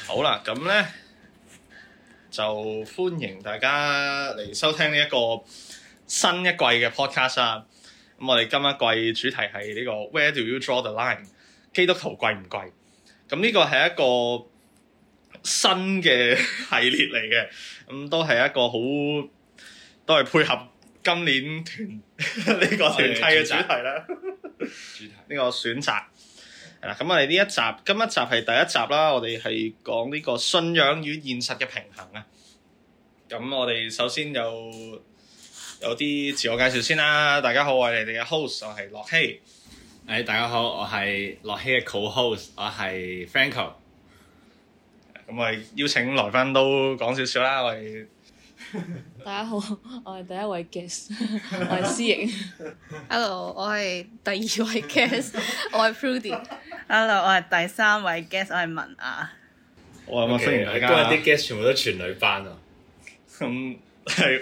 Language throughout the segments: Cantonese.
好啦，咁咧就歡迎大家嚟收聽呢一個新一季嘅 podcast 啊！咁我哋今一季主題係呢個 Where do you draw the line？ 基督徒貴唔貴？咁呢個係一個新嘅系列嚟嘅，咁都係一個好都係配合今年呢個團契嘅主題啦。呢個選擇。係啦，咁我哋今一集係第一集啦，我哋係講呢個信仰與現實嘅平衡啊。咁我哋首先有啲自我介紹先啦。大家好，我係你哋嘅 host， 我係樂希。 大家好，我係樂希嘅 co-host， 我係 Franco。 咁我哋邀請來賓都講少少啦。我哋大家好，我係第一位 guest， 我係思瑩。 Hello， 我係第二位 guest， 我係 Prudy。Hello， 我係第三位 guest， 我係文雅。 好啊，歡迎大家。 今日啲 guest 全部都全女班啊。 咁係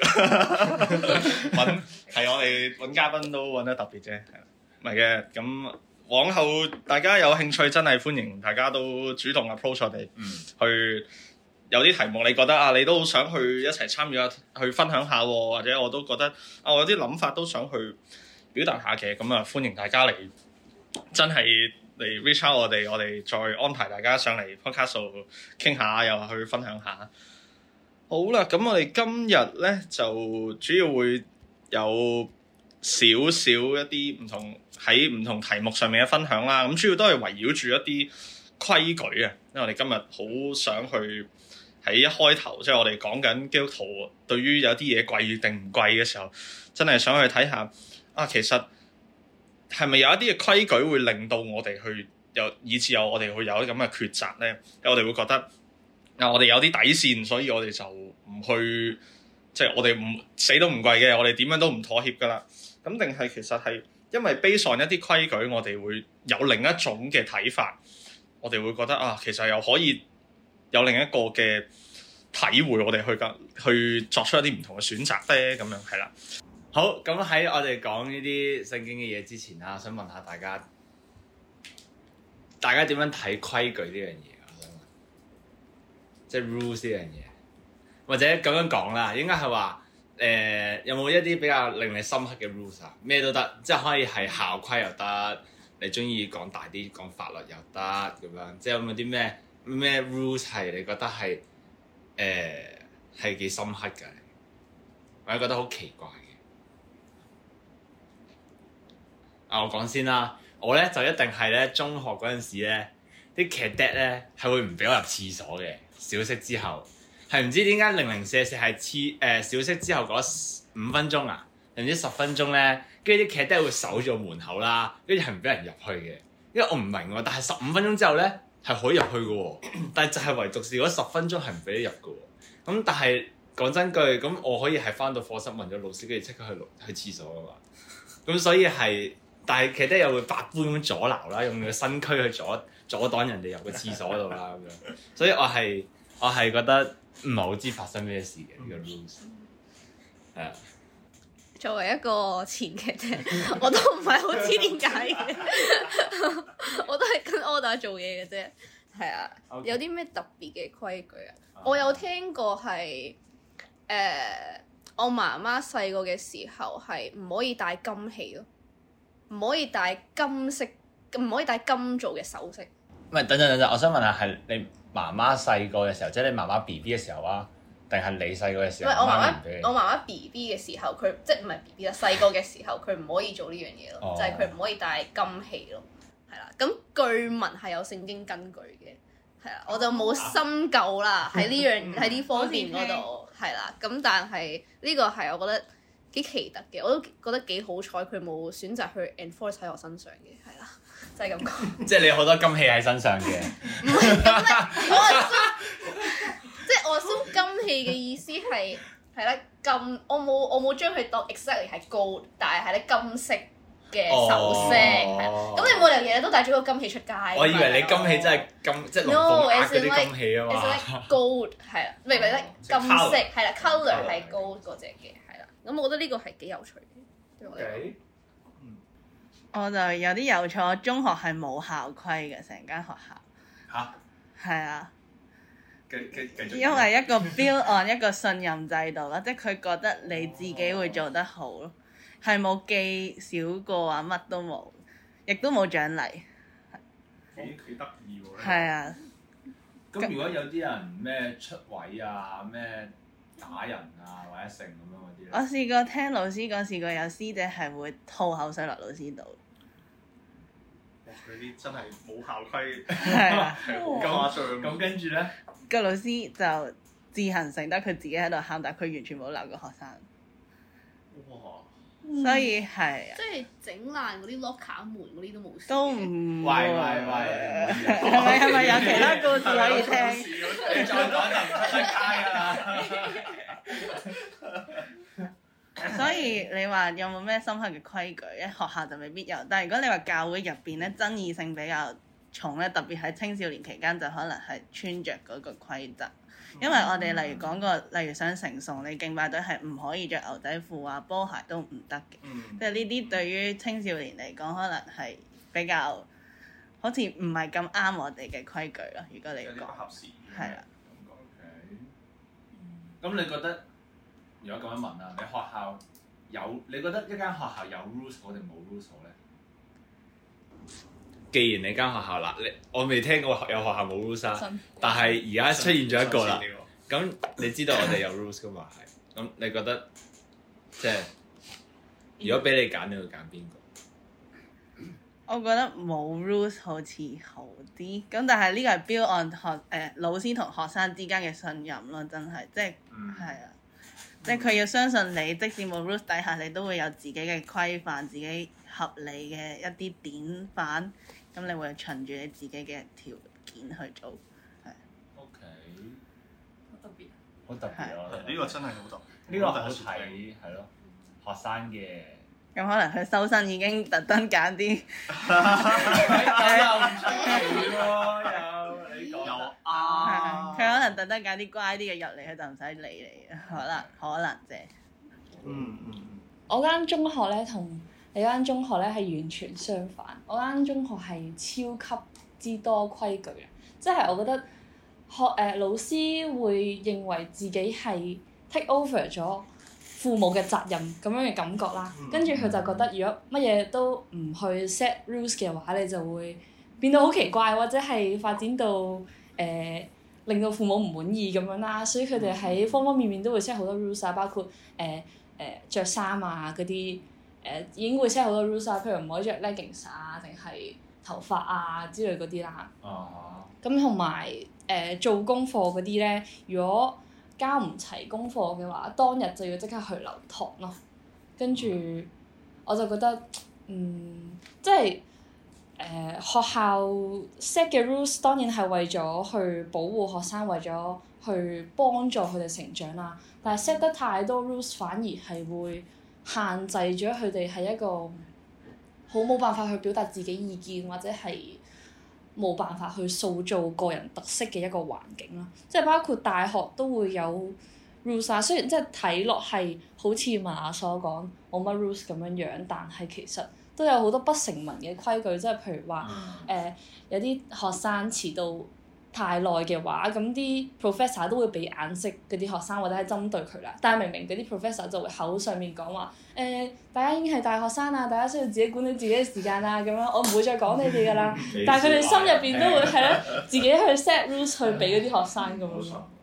我哋揾嘉賓都揾得特別啫，唔係嘅。咁往後大家有興趣，真係歡迎大家都主動 approach 我哋，去有啲題目你覺得啊，你都好想去一齊參與下，去分享下，或者我都覺得啊，我有啲諗法都想去表達下嘅，咁啊歡迎大家嚟，真係嚟 reach out 我哋再安排大家上嚟 podcast 度傾下，又去分享下。好啦，咁我哋今日咧就主要會有少少一啲唔同題目上面嘅分享啦。咁主要都係圍繞住一啲規矩啊，因為我哋今日好想去喺一開頭，即係我哋講緊基督徒對於有啲嘢貴定唔貴嘅時候，真係想去睇下啊，其實係咪有一啲嘅規矩會令到我哋去以至我哋會有啲咁嘅抉擇咧？我哋會覺得我哋有啲底線，所以我哋就唔去，即係我哋唔死都唔貴嘅，我哋點樣都唔妥協噶啦。咁定係其實係因為 based on一啲規矩，我哋會有另一種嘅睇法，我哋會覺得啊，其實又可以有另一個嘅體會，我哋去作出一啲唔同嘅選擇咧。咁樣係啦。 好，咁喺我哋講呢啲聖經嘅嘢之前啦，想問下大家點樣睇規矩呢樣嘢？即係 rules 呢樣嘢，或者咁樣講啦，應該係話有冇一啲比較令你深刻嘅 rules 啊？咩都得，即係可以係校規又得，你中意講大啲講法律又得咁樣，即係有冇啲咩 rules 係你覺得係幾深刻嘅，或者覺得好奇怪嘅？我講先啦，我咧就一定係咧中學嗰陣時咧，啲 cadet 咧係會唔俾我入廁所嘅。小息之後係唔知點解004係小息之後嗰5分鐘啊，定唔知10分鐘咧，跟住啲 cadet 會守住門口啦，跟住係唔俾人入去嘅。因為我唔明喎，但係15分鐘之後咧係可以入去嘅喎，但係就係唯獨是嗰10分鐘係唔俾你入嘅喎。咁但係講真句，咁我可以係翻到課室問咗老師，跟住即刻去廁所啊嘛。咁所以但係 cadet 又會百般咁阻撓啦，用佢身軀去阻擋人哋入個廁所度啦咁樣。所以我係覺得唔係好知發生咩事嘅呢個 rules。係啊。 作為一個前cadet，我都唔係好知點解嘅，我都係跟 order 做嘢嘅啫。係啊。Okay. 有啲咩特別嘅規矩啊？我有聽過係我媽媽細個嘅時候係唔可以戴金器咯，唔可以戴金做嘅首飾。 唔係，等陣，我想問下係你媽媽細個嘅時候，即係你媽媽 BB 嘅時候啊，定係你細個嘅時候？ 唔係我媽媽 BB 嘅時候，佢即係唔係 BB 啦，細個嘅時候佢唔可以做呢樣嘢咯，就係佢唔可以戴金器咯，係啦。咁據聞係有聖經根據嘅，係啦，我就冇深究啦喺呢方面嗰度，係啦。咁但係呢個係我覺得幾奇特嘅，我都覺得幾好彩佢冇選擇去 enforce 喺我身上嘅，係啦。就係咁講，即係你好多金器喺身上嘅。 唔係咁咧，即係我 assume 金器嘅意思係咧金，我冇將佢當 exactly 係 gold， 但係咧金色嘅首飾。咁你冇理由日日都帶咗個金器出街。 我以為你金器真係金，即係龍鳳鈪嗰啲金器啊嘛。 It's like gold 係啦，唔係金色係啦 ，colour 係 gold 嗰隻嘅係啦。咁我覺得呢個係幾有趣嘅，對我嚟講。 我就有啲有趣，我中學係冇校規嘅，成間學校。 嚇？ 係啊， 繼續。 因為一個 build on 一個信任制度啦，即係佢覺得你自己會做得好咯，係冇記少過啊，乜都冇，亦都冇獎勵。 幾得意喎！ 係啊， 咁如果有啲人咩出位啊，咩打人啊，或者成咁樣嗰啲咧？ 我試過聽老師講，試過有師姐係會吐口水落老師度。 哇！佢啲真係冇校規， 係啊， 係好誇張。 咁跟住咧， 個老師就自行承得佢自己喺度喊，但係佢完全冇鬧過學生， 哇！ 所以係啊即係整爛嗰啲 locker 門嗰啲都冇事嘅。 都唔喂， 係咪有其他故事可以聽？ 你再講就唔出得街㗎啦。 所以你話有冇咩深刻嘅規矩咧？學校就未必有，但係如果你話教會入邊咧，爭議性比較重咧，特別喺青少年期間就可能係穿着嗰個規則。因為我哋例如講過，例如想成崇，你敬拜隊係唔可以着牛仔褲啊、波鞋都唔得嘅。即係呢啲對於青少年嚟講，可能係比較好似唔係咁啱我哋嘅規矩咯。如果你有啲不講合時宜係啦， 咁你覺得，如果咁樣問啊，你學校你覺得一間學校有 rules 好定冇 rules 好咧？既然你間學校啦，我未聽過有學校冇 rules 啊，但係而家出現咗一個啦。咁你知道我哋有 rules 噶嘛？係。咁你覺得即係如果俾你揀，你會揀邊個？ 我覺得冇 rules 好似好啲，咁但係呢個係 build on 老師同學生之間嘅信任咯，真係即係係啊，即係佢要相信你，即使冇 rules 底下，你都會有自己嘅規範，自己合理嘅一啲典範，咁你會循住你自己嘅條件去做，係。 OK， 好特別。 好特別啊！ 呢個真係好特別。 呢個好睇係咯，學生嘅。 咁可能佢收生已經特登揀啲， 又唔出奇喎，又你講又佢可能特登揀啲乖啲嘅入嚟，佢就唔使理你，可能啫。 我間中學咧同你間中學咧係完全相反，我間中學係超級之多規矩嘅，即係我覺得老師會認為自己係 take over 咗父母嘅責任咁樣嘅感覺啦，跟住佢就覺得如果乜嘢都唔去 set rules 嘅話，你就會變到好奇怪，或者係發展到令到父母唔滿意咁樣啦，所以佢哋喺方方面面都會 set 好多 rules 啊，包括著衫啊嗰啲已經會 set 好多 rules 啊，譬如唔可以着 leggings 啊，定係頭髮啊之類嗰啲啦。咁同埋做功課嗰啲咧，如果交唔齊功課嘅話，當日就要即刻去留堂咯。跟住我就覺得，即係學校 set 嘅 rules 當然係為咗去保護學生，為咗去幫助佢哋成長啦。但係 set 得太多 rules 反而係會限制咗佢哋係一個好冇辦法去表達自己意見，或者係冇辦法去塑造個人特色嘅一個環境啦，即係包括大學都會有 rules 啊。雖然即係睇落係好似文雅所講冇乜 rules 咁樣樣，但係其實都有好多不成文嘅規矩，即係譬如話有啲學生遲到太耐嘅話，咁啲 professor 都會俾眼色嗰啲學生，或者係針對佢啦。但係明明嗰啲 professor 就會口上面講話大家已經係大學生啦，大家需要自己管理自己嘅時間啦，咁樣我唔會再講你哋㗎啦。但係佢哋心入邊都會係咯，自己去 set rules 去俾嗰啲學生咁樣咯。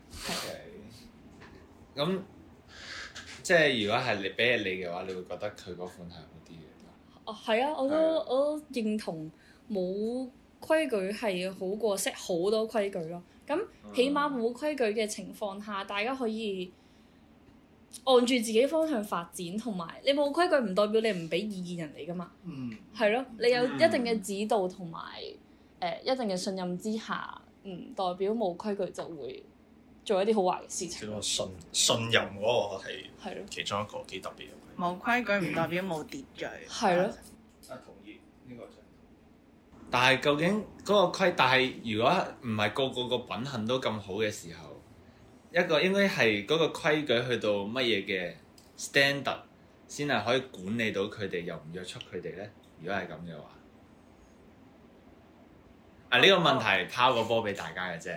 咁即係如果係你俾你嘅話，你會覺得佢嗰款係好啲嘅。 哦，係啊，我都認同冇規矩係好過 set 好多規矩咯。咁起碼冇規矩嘅情況下，大家可以按住自己方向發展，同埋你冇規矩唔代表你唔俾意見人哋噶嘛。係咯，你有一定嘅指導同埋一定嘅信任之下，唔代表冇規矩就會做一啲好壞嘅事情。 個信任嗰個係咯， 其中一個幾特別嘅。 冇規矩唔代表冇秩序。 係咯。 同意呢個就。 但係究竟嗰個但係如果唔係個品行都咁好嘅時候，一個應該係嗰個規矩去到乜嘢嘅 standard 先係可以管理到佢哋，又唔約束佢哋咧？如果係咁嘅話，呢個問題拋個波俾大家嘅啫。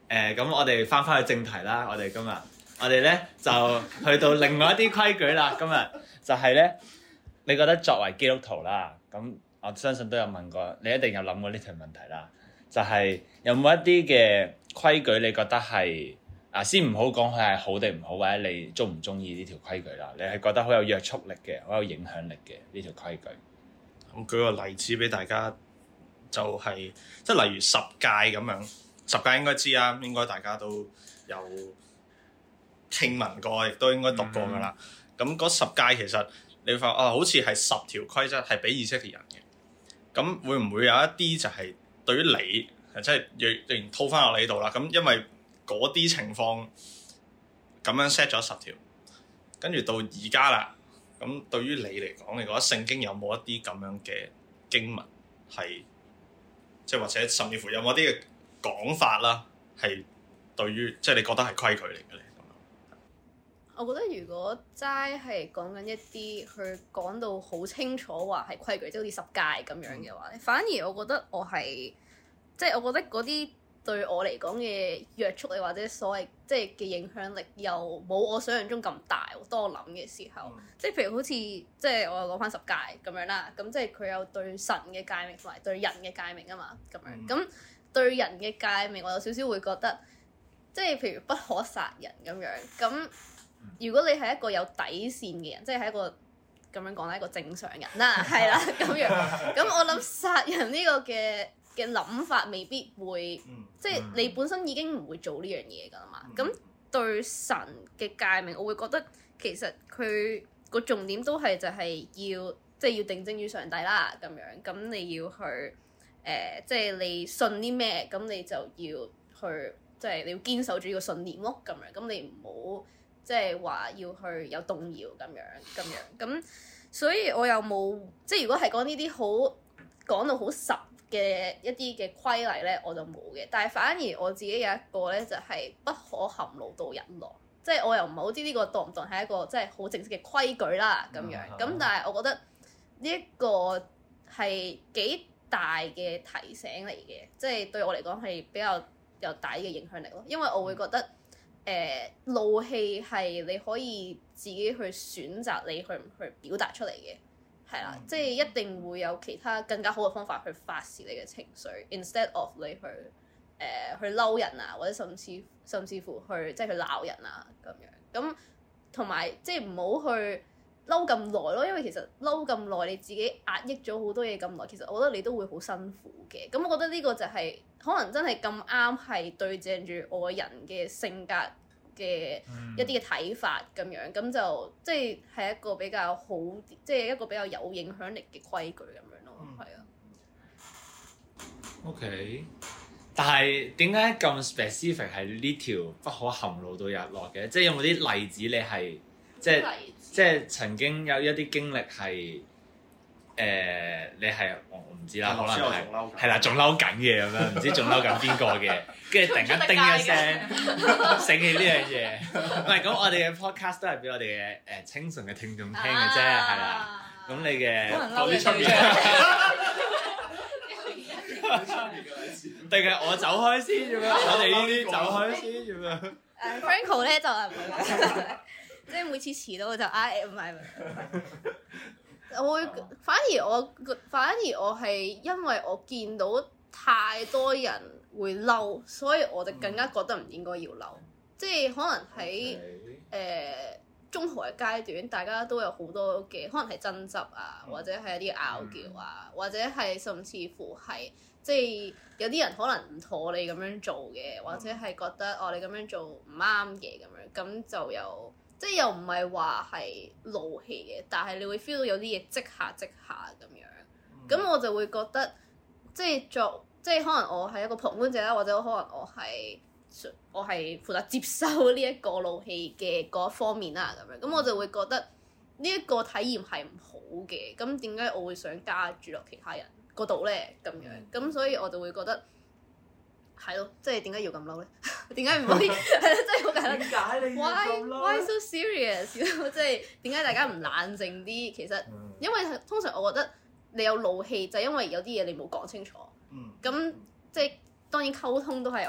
咁我哋翻去正題啦，我哋咧就去到另外一啲規矩啦。今日就係咧，你覺得作為基督徒啦，咁我相信都有問過，你一定有諗過呢條問題啦。就係有冇一啲嘅規矩，你覺得係先唔好講佢係好定唔好，或者你中唔中意呢條規矩啦？你係覺得好有約束力嘅，好有影響力嘅呢條規矩？ 咁舉個例子俾大家，就係即係例如十戒咁樣，十戒應該知啦，應該大家都有聽聞過，亦都應該讀過㗎啦。咁嗰十戒其實你會發覺好似係10條規則係俾以色列人嘅。咁會唔會有一啲就係對於你，即係若然套翻落你度啦？咁因為嗰啲情況咁樣 set 咗10條，跟住到而家啦。咁對於你嚟講，你覺得聖經有冇一啲咁樣嘅經文係，即係或者甚至乎有冇啲嘅講法啦，係對於即係你覺得係規矩嚟嘅咧？ 我覺得如果齋係講緊一啲佢講到好清楚話係規矩，即係好似十戒咁樣嘅話咧，反而我覺得我係即係我覺得嗰啲對我嚟講嘅約束力或者所謂即係嘅影響力又冇我想象中咁大。當我諗嘅時候，即係譬如好似即係我又講翻十戒咁樣啦，咁即係佢有對神嘅誡命同埋對人嘅誡命啊嘛，咁樣咁對人嘅誡命我有少少會覺得，即係譬如不可殺人咁樣咁。如果你係一個有底線嘅人，即係一個咁樣講啦，一個正常人啦，係啦咁樣。咁我諗殺人呢個嘅諗法未必會，即係你本身已經唔會做呢樣嘢㗎啦嘛。咁對神嘅誡命，我會覺得其實佢個重點都係就係要，即係要定睛於上帝啦咁樣。咁你要去即係你信啲咩，咁你就要去，即係你要堅守住呢個信念咯咁樣。咁你唔好。即係話要去有動搖咁樣，咁所以我又冇即係如果係講呢啲好講到好實嘅一啲嘅規例咧，我就冇嘅。但係反而我自己有一個咧，就係不可含怒到日落。即係我又唔係好知呢個當唔當係一個即係好正式嘅規矩啦咁樣。咁但係我覺得呢一個係幾大嘅提醒嚟嘅，即係對我嚟講係比較有大嘅影響力咯。因為我會覺得。怒氣係你可以自己去選擇你去唔去表達出嚟嘅，係啦，即係一定會有其他更加好嘅方法去發泄你嘅情緒 ，instead of 你去去嬲人啊，或者甚至乎去即係去鬧人啊咁樣，咁同埋即係唔好去嬲咁耐咯，因為其實嬲咁耐你自己壓抑咗好多嘢咁耐，其實我覺得你都會好辛苦嘅。咁我覺得呢個就係、可能真係咁啱係對正住我人嘅性格嘅一啲嘅睇法咁樣，咁就即係一個比較好，即係一個比較有影響力嘅規矩咁樣咯，係啊。 OK， 但係點解咁 specific 係呢條不可含怒到日落嘅？即係有冇啲例子你係即係曾經有一啲經歷係你係我唔知啦，可能係啦，仲嬲緊嘅咁樣，唔知仲嬲緊邊個嘅，跟住突然間叮一聲醒起呢樣嘢。唔係咁，我哋嘅 podcast 都係俾我哋嘅清純嘅聽眾聽嘅啫，係啦。咁你嘅講啲出面， 定係我走開先咁樣？我哋呢啲走開先咁樣。 Franco 咧就係唔係，即係每次遲到就唔係。我會反而我係因為我見到太多人會嬲，所以我就更加覺得唔應該要嬲。即係可能喺中學嘅階段，大家都有好多嘅可能係爭執啊，或者係一啲拗撬啊，或者係甚至乎係即係有啲人可能唔妥你咁樣做嘅，或者係覺得你咁樣做唔啱嘅咁樣，咁就有。即係又唔係話係怒氣嘅，但係你會 feel 到有啲嘢即下咁樣，咁我就會覺得即係可能我係一個旁觀者啦，或者可能我係負責接收呢一個怒氣嘅嗰一方面啦，咁樣，咁我就會覺得呢一個體驗係唔好嘅，咁點解我會想加注落其他人嗰度咧？咁樣，咁所以我就會覺得。係咯，即係點解要咁嬲咧？點解唔可以？係咯，真係好簡單。點解你要咁嬲？Why so serious？即係點解大家唔冷靜啲？其實因為通常我覺得你有怒氣，就係因為有啲嘢你冇講清楚。咁即係當然溝通都係我覺得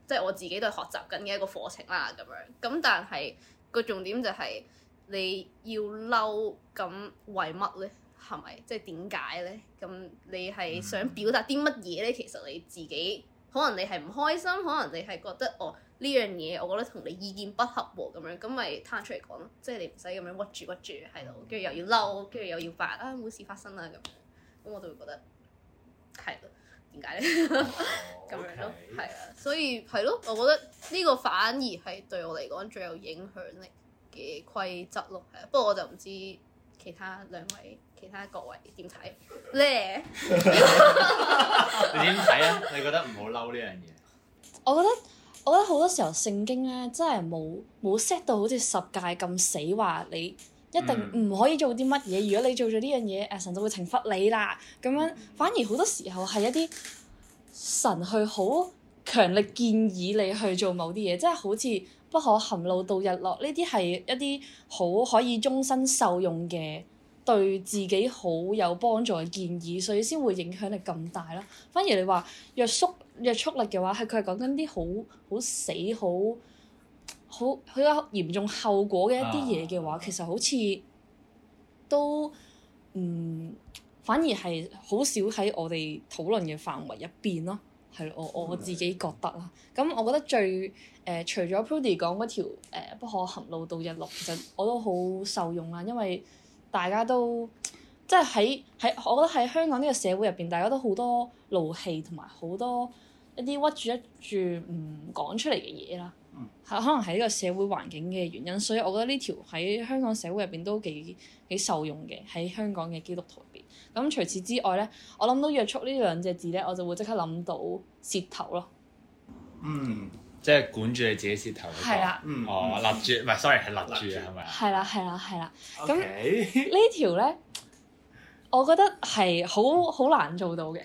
即係我自己都係學習緊嘅一個課程啦咁樣。咁但係個重點就係你要嬲，咁為乜咧？係咪？即係點解咧？咁你係想表達啲乜嘢咧？其實你自己可能你係唔開心，可能你係覺得呢樣嘢我覺得同你意見不合喎咁樣，咁咪攤出嚟講咯。即係你唔使咁樣屈住喺度，跟住又要嬲，跟住又要扮冇事發生啦咁樣。咁我就會覺得係咯，點解咧？咁樣咯，係啊，所以係咯，我覺得呢個反而係對我嚟講最有影響力嘅規則咯，係啊。不過我就唔知其他各位點睇咧？ 你點睇啊？你覺得唔好嬲呢樣嘢？ 我覺得好多時候聖經咧真係冇 set 到好似十戒咁死，話你一定唔可以做啲乜嘢。如果你做咗呢樣嘢，神就會懲罰你啦。咁樣反而好多時候係一啲神去好強力建議你去做某啲嘢，即係好似不可含怒到日落呢啲係一啲好可以終身受用嘅，對自己好有幫助嘅建議，所以先會影響力咁大啦。反而你話約束力嘅話，佢係講緊啲好死好有嚴重後果嘅一啲嘢嘅話，其實好似都反而係好少喺我哋討論嘅範圍入邊咯。係我自己覺得啦。咁我覺得最除咗 Prudy 講嗰條不可含怒到日落，其實我都好受用啦，因為大家都即係喺我覺得喺香港呢個社會入邊，大家都好多怒氣同埋好多一啲屈住唔講出嚟嘅嘢啦。可能係呢個社會環境嘅原因，所以我覺得呢條喺香港社會入邊都幾受用嘅，喺香港嘅基督徒入邊。咁除此之外咧，我諗到約束呢兩隻字咧，我就會即刻諗到舌頭咯。 即係管住你自己舌頭。 係啦。 勒住，唔係 sorry 係勒住啊，係咪啊？ 係啦。咁呢條咧，我覺得係好難做到嘅。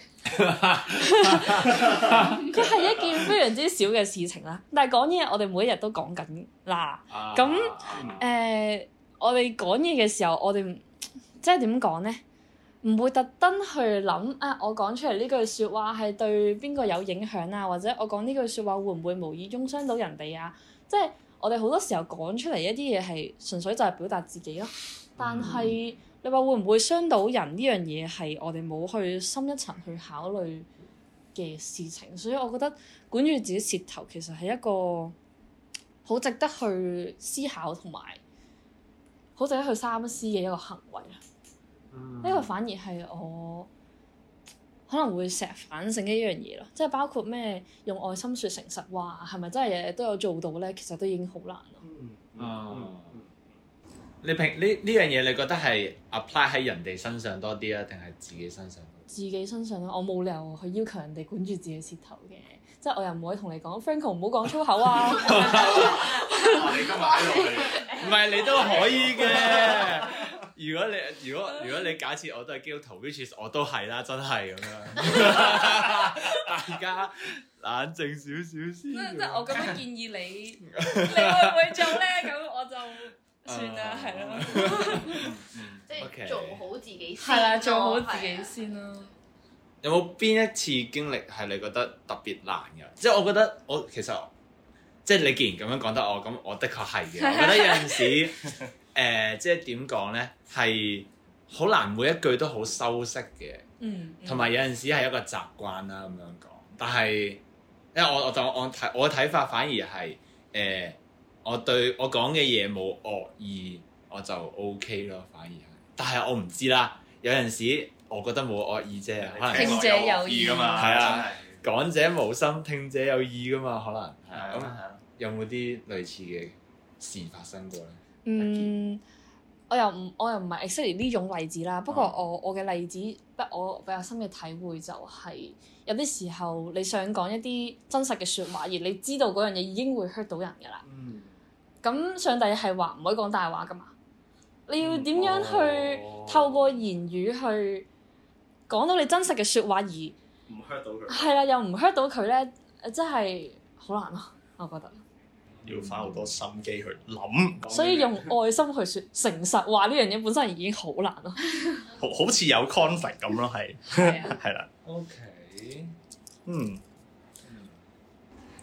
佢係一件非常之小嘅事情啦，但係講嘢我哋每一日都講緊啦。咁我哋講嘢嘅時候，我哋即係點講咧？唔會特登去諗我講出嚟呢句説話係對邊個有影響啊，或者我講呢句説話會唔會無意中傷到人哋啊？即係我哋好多時候講出嚟一啲嘢係純粹就係表達自己咯。但係你話會唔會傷到人呢樣嘢係我哋冇去深一層去考慮嘅事情，所以我覺得管住自己舌頭其實係一個好值得去思考同埋好值得去三思嘅一個行為啦。呢個反而係我可能會成日反省嘅一樣嘢咯，即係包括咩用愛心説誠實話，係咪真係日日都有做到咧？其實都已經好難咯。 你呢樣嘢，你覺得係 apply 喺人哋身上多啲啊，定係自己身上？自己身上咯，我冇理由去要求人哋管住自己舌頭嘅，即係我又唔可以同你講 Franco 唔好講粗口啊。 你今日喺度，唔係你都可以嘅。如果你假設我都係基督徒 which is 我都係啦，真係咁樣。大家冷靜少少先。 即係我咁樣建議你，你會唔會做咧？咁我就算啦，係咯。 即係做好自己先。 係啦，做好自己先咯。 有冇邊一次經歷係你覺得特別難嘅？即係我覺得其實即係你既然咁樣講得我，咁我的確係嘅。我覺得有陣時。即係點講咧，係好難每一句都好修飾嘅，同埋有陣時係一個習慣啦咁樣講。但係因為我嘅睇法反而係我對我講嘅嘢冇惡意，我就 OK 咯，反而係。但係我唔知啦，有陣時我覺得冇惡意啫，可能聽者有意㗎嘛， 係啊，講者無心，聽者有意㗎嘛，可能係咁。有冇啲類似嘅事發生過咧？ 我又唔係 exactly 呢種例子啦。不過我嘅例子，我比較深嘅體會就係有啲時候你想講一啲真實嘅説話，而你知道嗰樣嘢已經會 hurt 到人㗎啦。咁上帝係話唔可以講大話㗎嘛？你要點樣去透過言語去講到你真實嘅説話而唔 hurt 到佢？ 係啦，又唔 hurt 到佢咧，真係好難咯，我覺得。 要花好多心機去諗， 所以用愛心去説誠實話呢樣嘢本身已經好難咯。 好似有 conflict 咁咯，係係啦。 OK，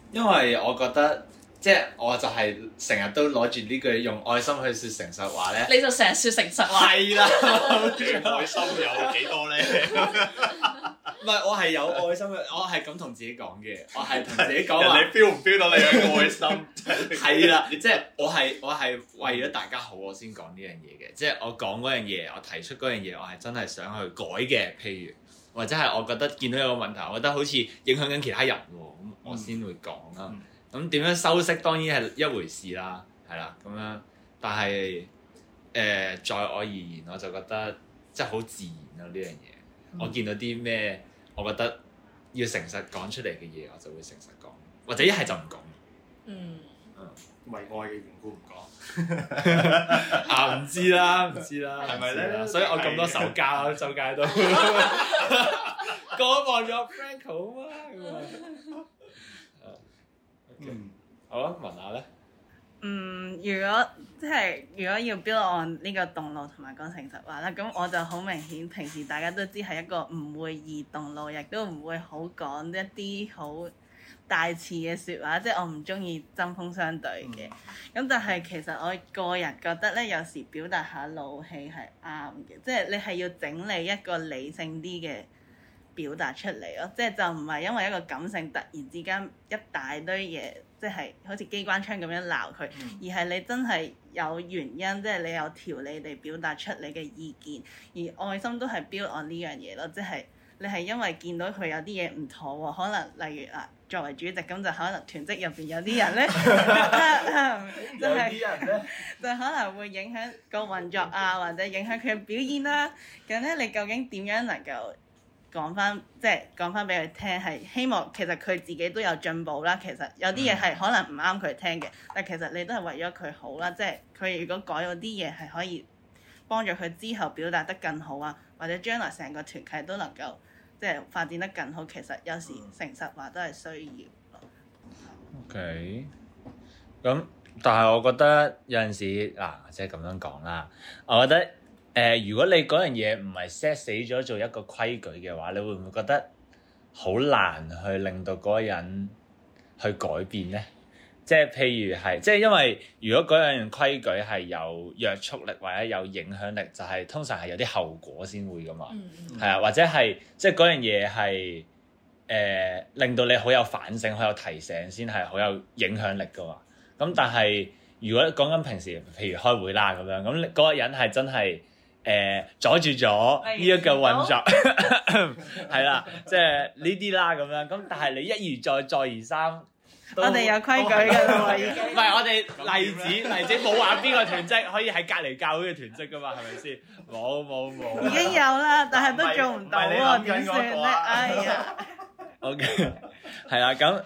因為我覺得即係我就係成日都攞住呢句用愛心去説誠實話咧。 你就成日説誠實話。 係啦， 愛心有幾多咧？ 唔係我係有愛心嘅，我係咁同自己講嘅，我係同自己講話。 人哋 feel 唔 feel 到你嘅愛心？ 係啦，即係我係為咗大家好，我先講呢樣嘢嘅。即係我講嗰樣嘢，我提出嗰樣嘢，我係真係想去改嘅。譬如或者係我覺得見到有個問題，我覺得好似影響緊其他人喎，咁我先會講啦。咁點樣修飾當然係一回事啦，係啦咁樣。但係在我而言，我就覺得即係好自然咯呢樣嘢。我見到啲咩，我覺得要誠實講出嚟嘅嘢，我就會誠實講，或者一係就唔講。 為愛嘅緣故唔講。 唔知啦， 係咪咧？ 所以我咁多手交啦，周街都個個望咗 Franco 啊嘛咁啊。好啊，問下咧。 如果要 build on 呢個動怒同埋講誠實話啦，咁我就好明顯，平時大家都知係一個唔會易動怒，亦都唔會好講一啲好大詞嘅説話，即係我唔中意針鋒相對嘅。咁但係其實我個人覺得咧，有時表達下怒氣係啱嘅，即係你係要整理一個理性啲嘅表達出嚟咯，即係就唔係因為一個感性突然之間一大堆嘢，即係好似機關槍咁樣鬧佢，而係你真係有原因，即係你有條理地表達出你嘅意見，而愛心都係 build on 呢樣嘢咯，即係你係因為見到佢有啲嘢唔妥喎，可能例如作為主席咁就可能團職入邊有啲人咧，有啲人咧就可能會影響個運作啊，或者影響佢嘅表現啦。咁咧，你究竟點樣能夠講翻俾佢聽，係希望其實佢自己都有進步啦。其實有啲嘢係可能唔啱佢聽嘅，但其實你都係為咗佢好啦。即係佢如果改咗啲嘢係可以幫助佢之後表達得更好啊，或者將來成個團契都能夠即係發展得更好。其實有時誠實話都係需要咯。 OK，咁但係我覺得有陣時即係咁樣講啦，我覺得。如果你嗰樣嘢唔係 set 死咗做一個規矩嘅話，你會唔會覺得好難去令到嗰個人去改變呢？即係譬如係，即係因為如果嗰樣規矩係有約束力或者有影響力，就係通常係有啲後果先會噶嘛。係啊，或者係即係嗰樣嘢係令到你好有反省、好有提醒，先係好有影響力噶嘛。咁但係如果講緊平時，譬如開會啦咁樣，咁嗰個人係真係阻住咗呢一個運作，係啦，即係呢啲啦咁樣。咁但係你一而再，再而三， 我哋有規矩㗎啦喎已經。 唔係我哋例子冇話邊個團職可以喺隔離教會嘅團職㗎嘛？係咪先？冇。 已經有啦，但係都做唔到喎，點算咧？哎呀。 OK， 係啦，咁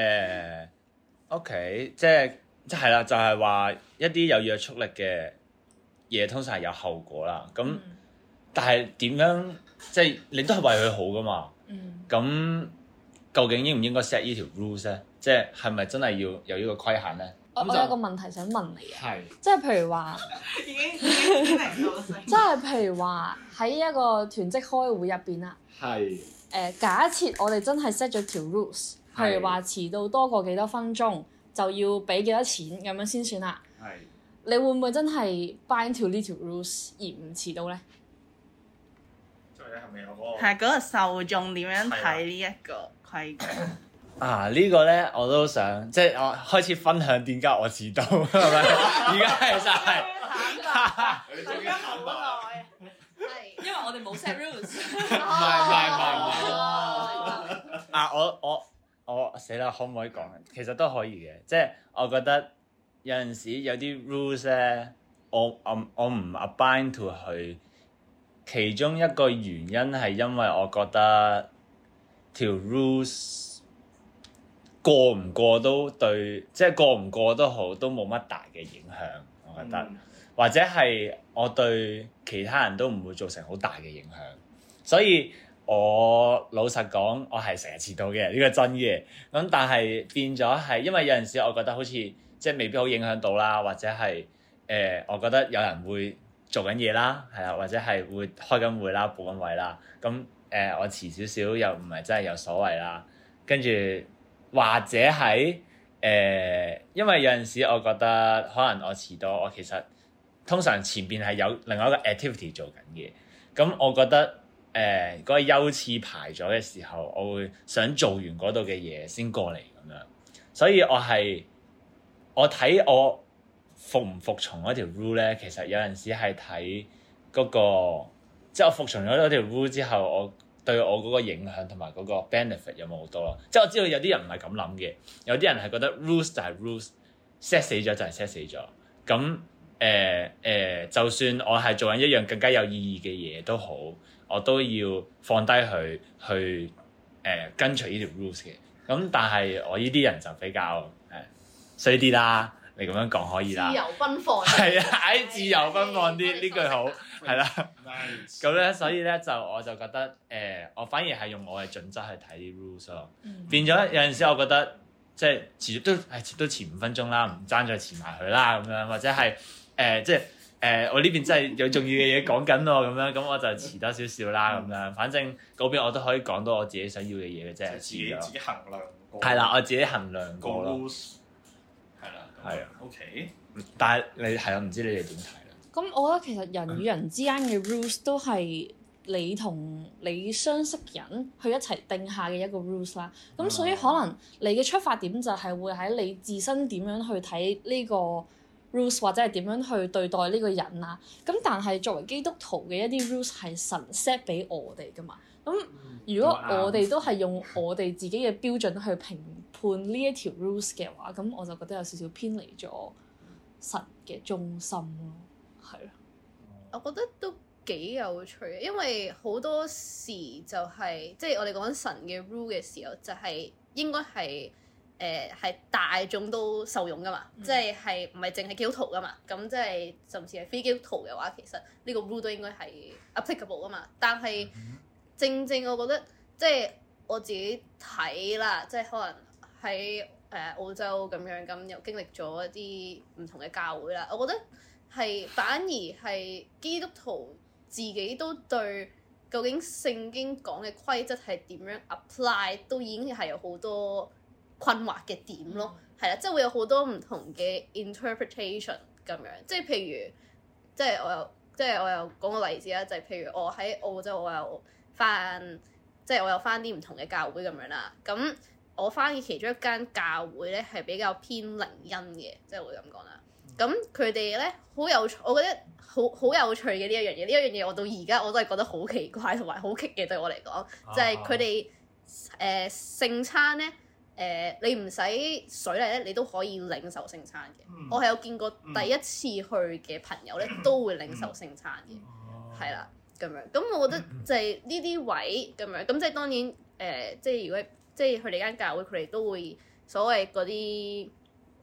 OK，即係啦，就係話一啲有約束力嘅嘢通常係有後果啦，咁但係點樣即係你都係為佢好噶嘛？咁究竟應唔應該 set 呢條 rules 咧？即係咪真係要有呢個規限咧？ 我有個問題想問你啊， 係即係譬如話， 已經明到聲。 即係譬如話喺一個團職開會入邊啦， 係假設我哋真係 set 咗條 rules， 譬如話遲到多過幾多分鐘就要俾幾多錢咁樣先算啦。 係。 你會唔會真係 bind to 呢條 rules 而唔遲到咧？ 即係係咪有嗰個？ 係嗰個受眾點樣睇呢一個規矩？ 呢個咧我都想，即係我開始分享點解我遲到係咪？而家其實係， 你終於坦白。 因為我哋冇 set rules。 唔係。我死啦，可唔可以講？其實都可以嘅，即係我覺得。有陣時有啲 rules 咧，我唔 abide to 佢，其中一個原因係因為我覺得條 rules 過唔過都對，即係過唔過都好，都冇乜大嘅影響，我覺得，或者係我對其他人都唔會造成好大嘅影響，所以我老實講，我係成日遲到嘅，呢個真嘅。咁但係變咗係，因為有陣時我覺得好似即係未必好影響到啦，或者係我覺得有人會做緊嘢啦，係啊，或者係會開緊會啦、補緊位啦。咁我遲少少又唔係真係有所謂啦。跟住或者係因為有陣時我覺得可能我遲到，我其實通常前邊係有另外一個 activity 做緊嘅，咁我覺得嗰個優次排咗嘅時候，我會想做完嗰度嘅嘢先過嚟咁樣，所以我睇我服唔服從嗰條 rule 咧，其實有陣時係睇嗰個，即係我服從咗嗰條 rule 之後，我對我嗰個影響同埋嗰個 benefit 有冇好多咯？即係我知道有啲人唔係咁諗嘅，有啲人係覺得 rules 就係 rules，set 死咗就係 set 死咗。咁就算我係做緊一樣更加有意義嘅嘢都好，我都要放低佢去跟隨呢條 rules 嘅。咁但係我呢啲人就比較衰啲啦。你咁樣講可以啦， 自由奔放係啊，自由奔放啲呢句好係啦。咁咧，所以咧我就覺得我反而係用我嘅準則去睇啲 rules 咯。變咗有陣時，我覺得即係遲都遲5分鐘啦，唔爭再遲埋佢啦咁樣，或者係即係我呢邊真係有重要嘅嘢講緊喎咁樣，咁我就遲多少少啦咁樣。反正嗰邊我都可以講到我自己想要嘅嘢嘅啫， 自己衡量過。 係啦，我自己衡量過咯。 係啦， 係啊 ，OK。 但係你係啊，唔知你哋點睇咧？ 咁我覺得其實人與人之間嘅 rules 都係你同你相識人去一齊定下嘅一個 rules 啦。咁所以可能你嘅出發點就係會喺你自身點樣去睇呢個 rules， 或者係點樣去對待呢個人啊。咁但係作為基督徒嘅一啲 rules 係神 set 俾我哋噶嘛。咁如果我哋都係用我哋自己嘅標準去評判呢一條 rules 嘅話，咁我就覺得有少少偏離咗神嘅中心咯，係咯。 我覺得都幾有趣嘅，因為好多時就係即係我哋講緊神嘅 rule 嘅時候，就係應該係係大眾都受用噶嘛，即係唔係淨係基督徒噶嘛，咁即係甚至係非基督徒嘅話，其實呢個 rule 都應該係 applicable 噶嘛。但係正正我覺得即係我自己睇啦，即係可能喺澳洲咁樣咁又經歷咗一啲唔同嘅教會啦，我覺得係反而係基督徒自己都對究竟聖經講嘅規則係點樣 apply 都已經係有好多困惑嘅點咯，係啦，即係會有好多唔同嘅 interpretation 咁樣，即係譬如即係我又講個例子啦，就係譬如我喺澳洲我有翻啲唔同嘅教會咁樣啦，咁我翻嘅其中一間教會咧係比較偏靈恩嘅，即係會咁講啦。咁佢哋咧好有趣，我覺得好有趣嘅呢一樣嘢。呢一樣嘢我到而家我都係覺得好奇怪同埋好棘嘅，對我嚟講，就係佢哋聖餐咧你唔使水禮咧，你都可以領受聖餐嘅。我係有見過第一次去嘅朋友咧，都會領受聖餐嘅，係啦咁樣。咁我覺得就係呢啲位咁樣，咁即係當然即係如果即係佢哋間教會，佢哋都會所謂嗰啲，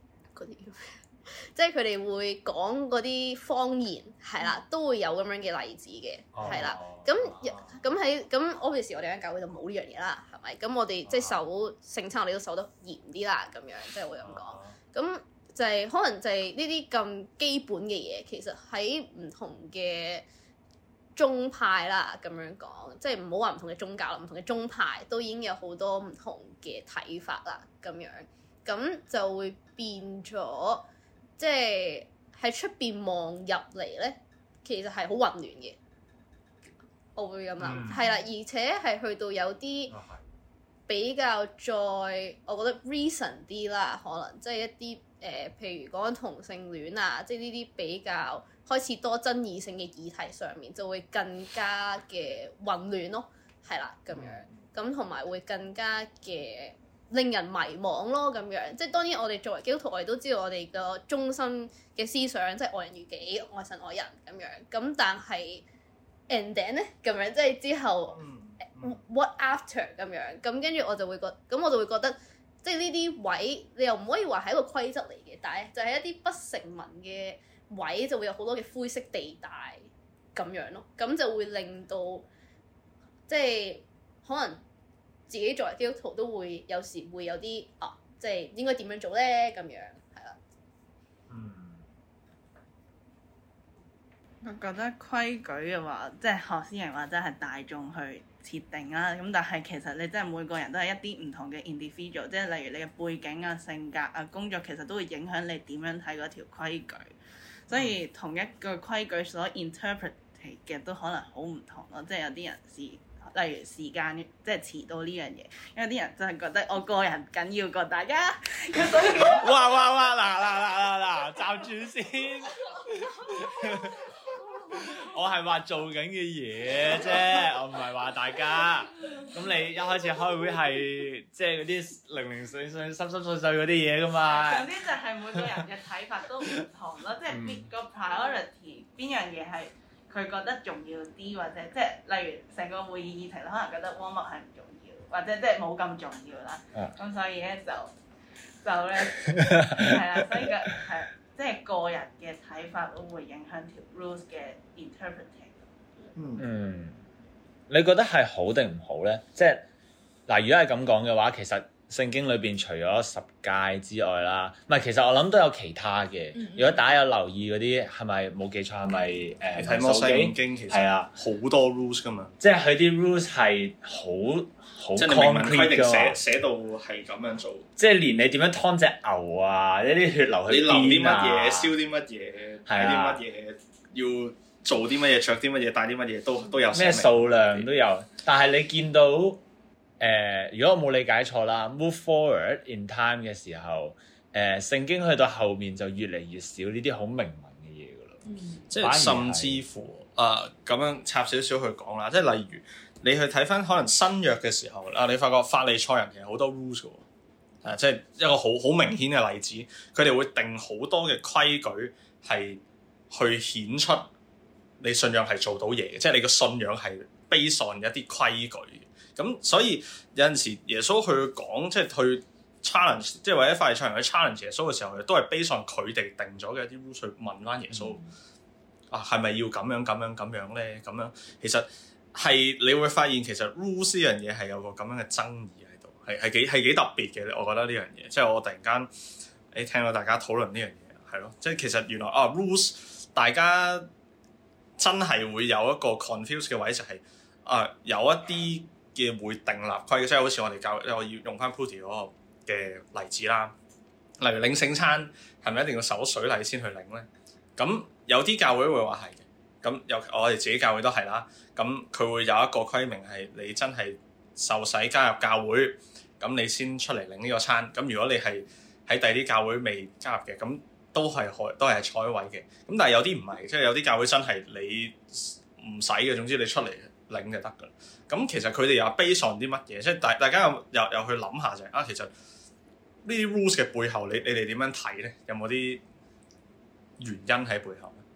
即係佢哋會講嗰啲方言，係啦，都會有咁樣嘅例子嘅，係啦。咁 obviously 我哋間教會就冇呢樣嘢啦，係咪？咁我哋即係守聖餐，我哋都守得嚴啲啦，咁樣即係會咁講。咁就係可能就係呢啲咁基本嘅嘢，其實喺唔同嘅宗派啦，咁樣講，即係唔好話唔同嘅宗教啦，唔同嘅宗派都已經有好多唔同嘅睇法啦，咁樣，咁就會變咗，即係喺出邊望入嚟咧，其實係好混亂嘅，我會咁諗，係啦，而且係去到有啲比較再，我覺得 recent 啲啦，可能即係一啲譬如講同性戀啊，即係呢啲比較開始多爭議性嘅議題上面，就會更加嘅混亂咯，係啦咁樣，咁同埋會更加嘅令人迷惘咯，咁樣，即係當然我哋作為基督徒，我哋都知道我哋個中心嘅思想，即係愛人如己、愛神愛人咁樣，咁但係 and then 咧咁樣，即係之後what after 咁樣，咁跟住我就會覺得，即係呢啲位你又唔可以話係一個規則嚟嘅，但係就係一啲不成文嘅位，就會有好多嘅灰色地帶咁樣咯，咁就會令到即係可能自己作為基督徒都會有時會有啲即係應該點樣做咧咁樣，係啦。 我覺得規矩嘅話，即係學師人話真係大眾去設定啦。咁但係其實你真係每個人都係一啲唔同嘅 individual，即係例如你嘅背景啊、性格啊、工作，其實都會影響你點樣睇嗰條規矩。所以同一個規矩所 interpret 嘅都可能好唔同咯。即係有啲人例如時間即係遲到呢樣嘢，有啲人真係覺得我個人緊要過大家，所以哇！嗱，站住先。我係話做緊嘅嘢啫，我唔係話大家。咁你一開始開會係即係嗰啲零零碎碎、濕濕碎碎嗰啲嘢噶嘛？ 總之就係每個人嘅睇法都唔同咯，即係邊個 priority 邊樣嘢係佢覺得重要啲，或者即係例如成個會議議題，可能覺得 warm up 係唔重要，或者即係冇咁重要啦。咁所以咧就咧係啦，所以嘅係。即係個人嘅睇法都會影響條 rules 嘅 interpreting。 你覺得係好定唔好咧？即係嗱，如果係咁講嘅話，其實聖經裏邊除咗十誡之外啦，唔係，其實我諗都有其他嘅。如果大家有留意嗰啲，係咪冇記錯係咪睇摩西五經其實係啊，好多 rules 噶嘛。 即係佢啲 rules 係好即係你明文規定寫到係咁樣做。即係連你點樣湯隻牛啊，一啲血流去邊啊，你淋啲乜嘢，燒啲乜嘢，睇啲乜嘢，要做啲乜嘢，着啲乜嘢，帶啲乜嘢都有。 咩數量都有，但係你見到如果我冇理解錯啦 ，move forward in time 嘅時候，聖經去到後面就越嚟越少呢啲好明文嘅嘢噶咯。 即係甚至乎咁樣插少少去講啦，即係例如你去睇翻可能新約嘅時候你發覺法利賽人其實好多 rules 嘅喎，即係一個好明顯嘅例子，佢哋會定好多嘅規矩係去顯出你信仰係做到嘢嘅，即係你個信仰係 based on 一啲規矩嘅。咁所以有陣時耶穌去講，即係去 challenge， 即係或者法利賽人去 challenge 耶穌嘅時候，都係 based on 佢哋定咗嘅一啲 rules 去問翻耶穌係咪要咁樣咧？咁樣其實係你會發現其實 rules 呢樣嘢係有個咁樣嘅爭議喺度，係幾特別嘅。我覺得呢樣嘢，即係我突然間聽到大家討論呢樣嘢係咯，即係其實原來rules 大家真係會有一個 confuse 嘅位，就係有一啲嘅會訂立規矩，即係好似我哋我要用翻 Prudy 嗰個嘅例子啦。例如領聖餐係咪一定要守水禮先去領咧？咁有啲教會會話係嘅，咁我哋自己教會都係啦。咁佢會有一個規命係你真係受洗加入教會，咁你先出嚟領呢個餐。咁如果你係喺第二啲教會未加入嘅，咁都係坐喺位嘅。咁但係有啲唔係，即係有啲教會真係你唔使嘅，總之你出嚟領就得㗎啦。咁其實佢哋又 base on 啲乜嘢？即係大家又去諗下就係其實呢啲 rules 嘅背後，你哋點樣睇咧？有冇啲原因喺背後咧？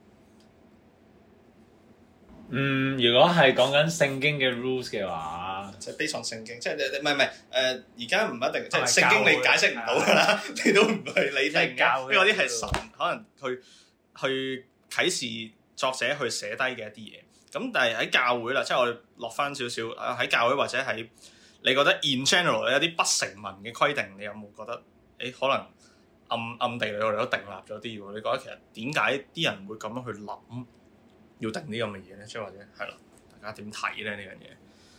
如果係講緊聖經嘅 rules 嘅話， 就 base on 聖經，即係唔係而家唔一定，即係聖經你解釋唔到㗎啦，你都唔係你定嘅，因為嗰啲係神可能去啟示作者去寫低嘅一啲嘢。咁但係喺教會啦，即係我哋落翻少少喺教會或者喺你覺得 in general 有啲不成文嘅規定，你有冇覺得可能暗地裏我哋都訂立咗啲喎？你覺得其實點解啲人會咁樣去諗要定呢咁嘅嘢咧？即係或者係咯，大家點睇咧呢樣嘢？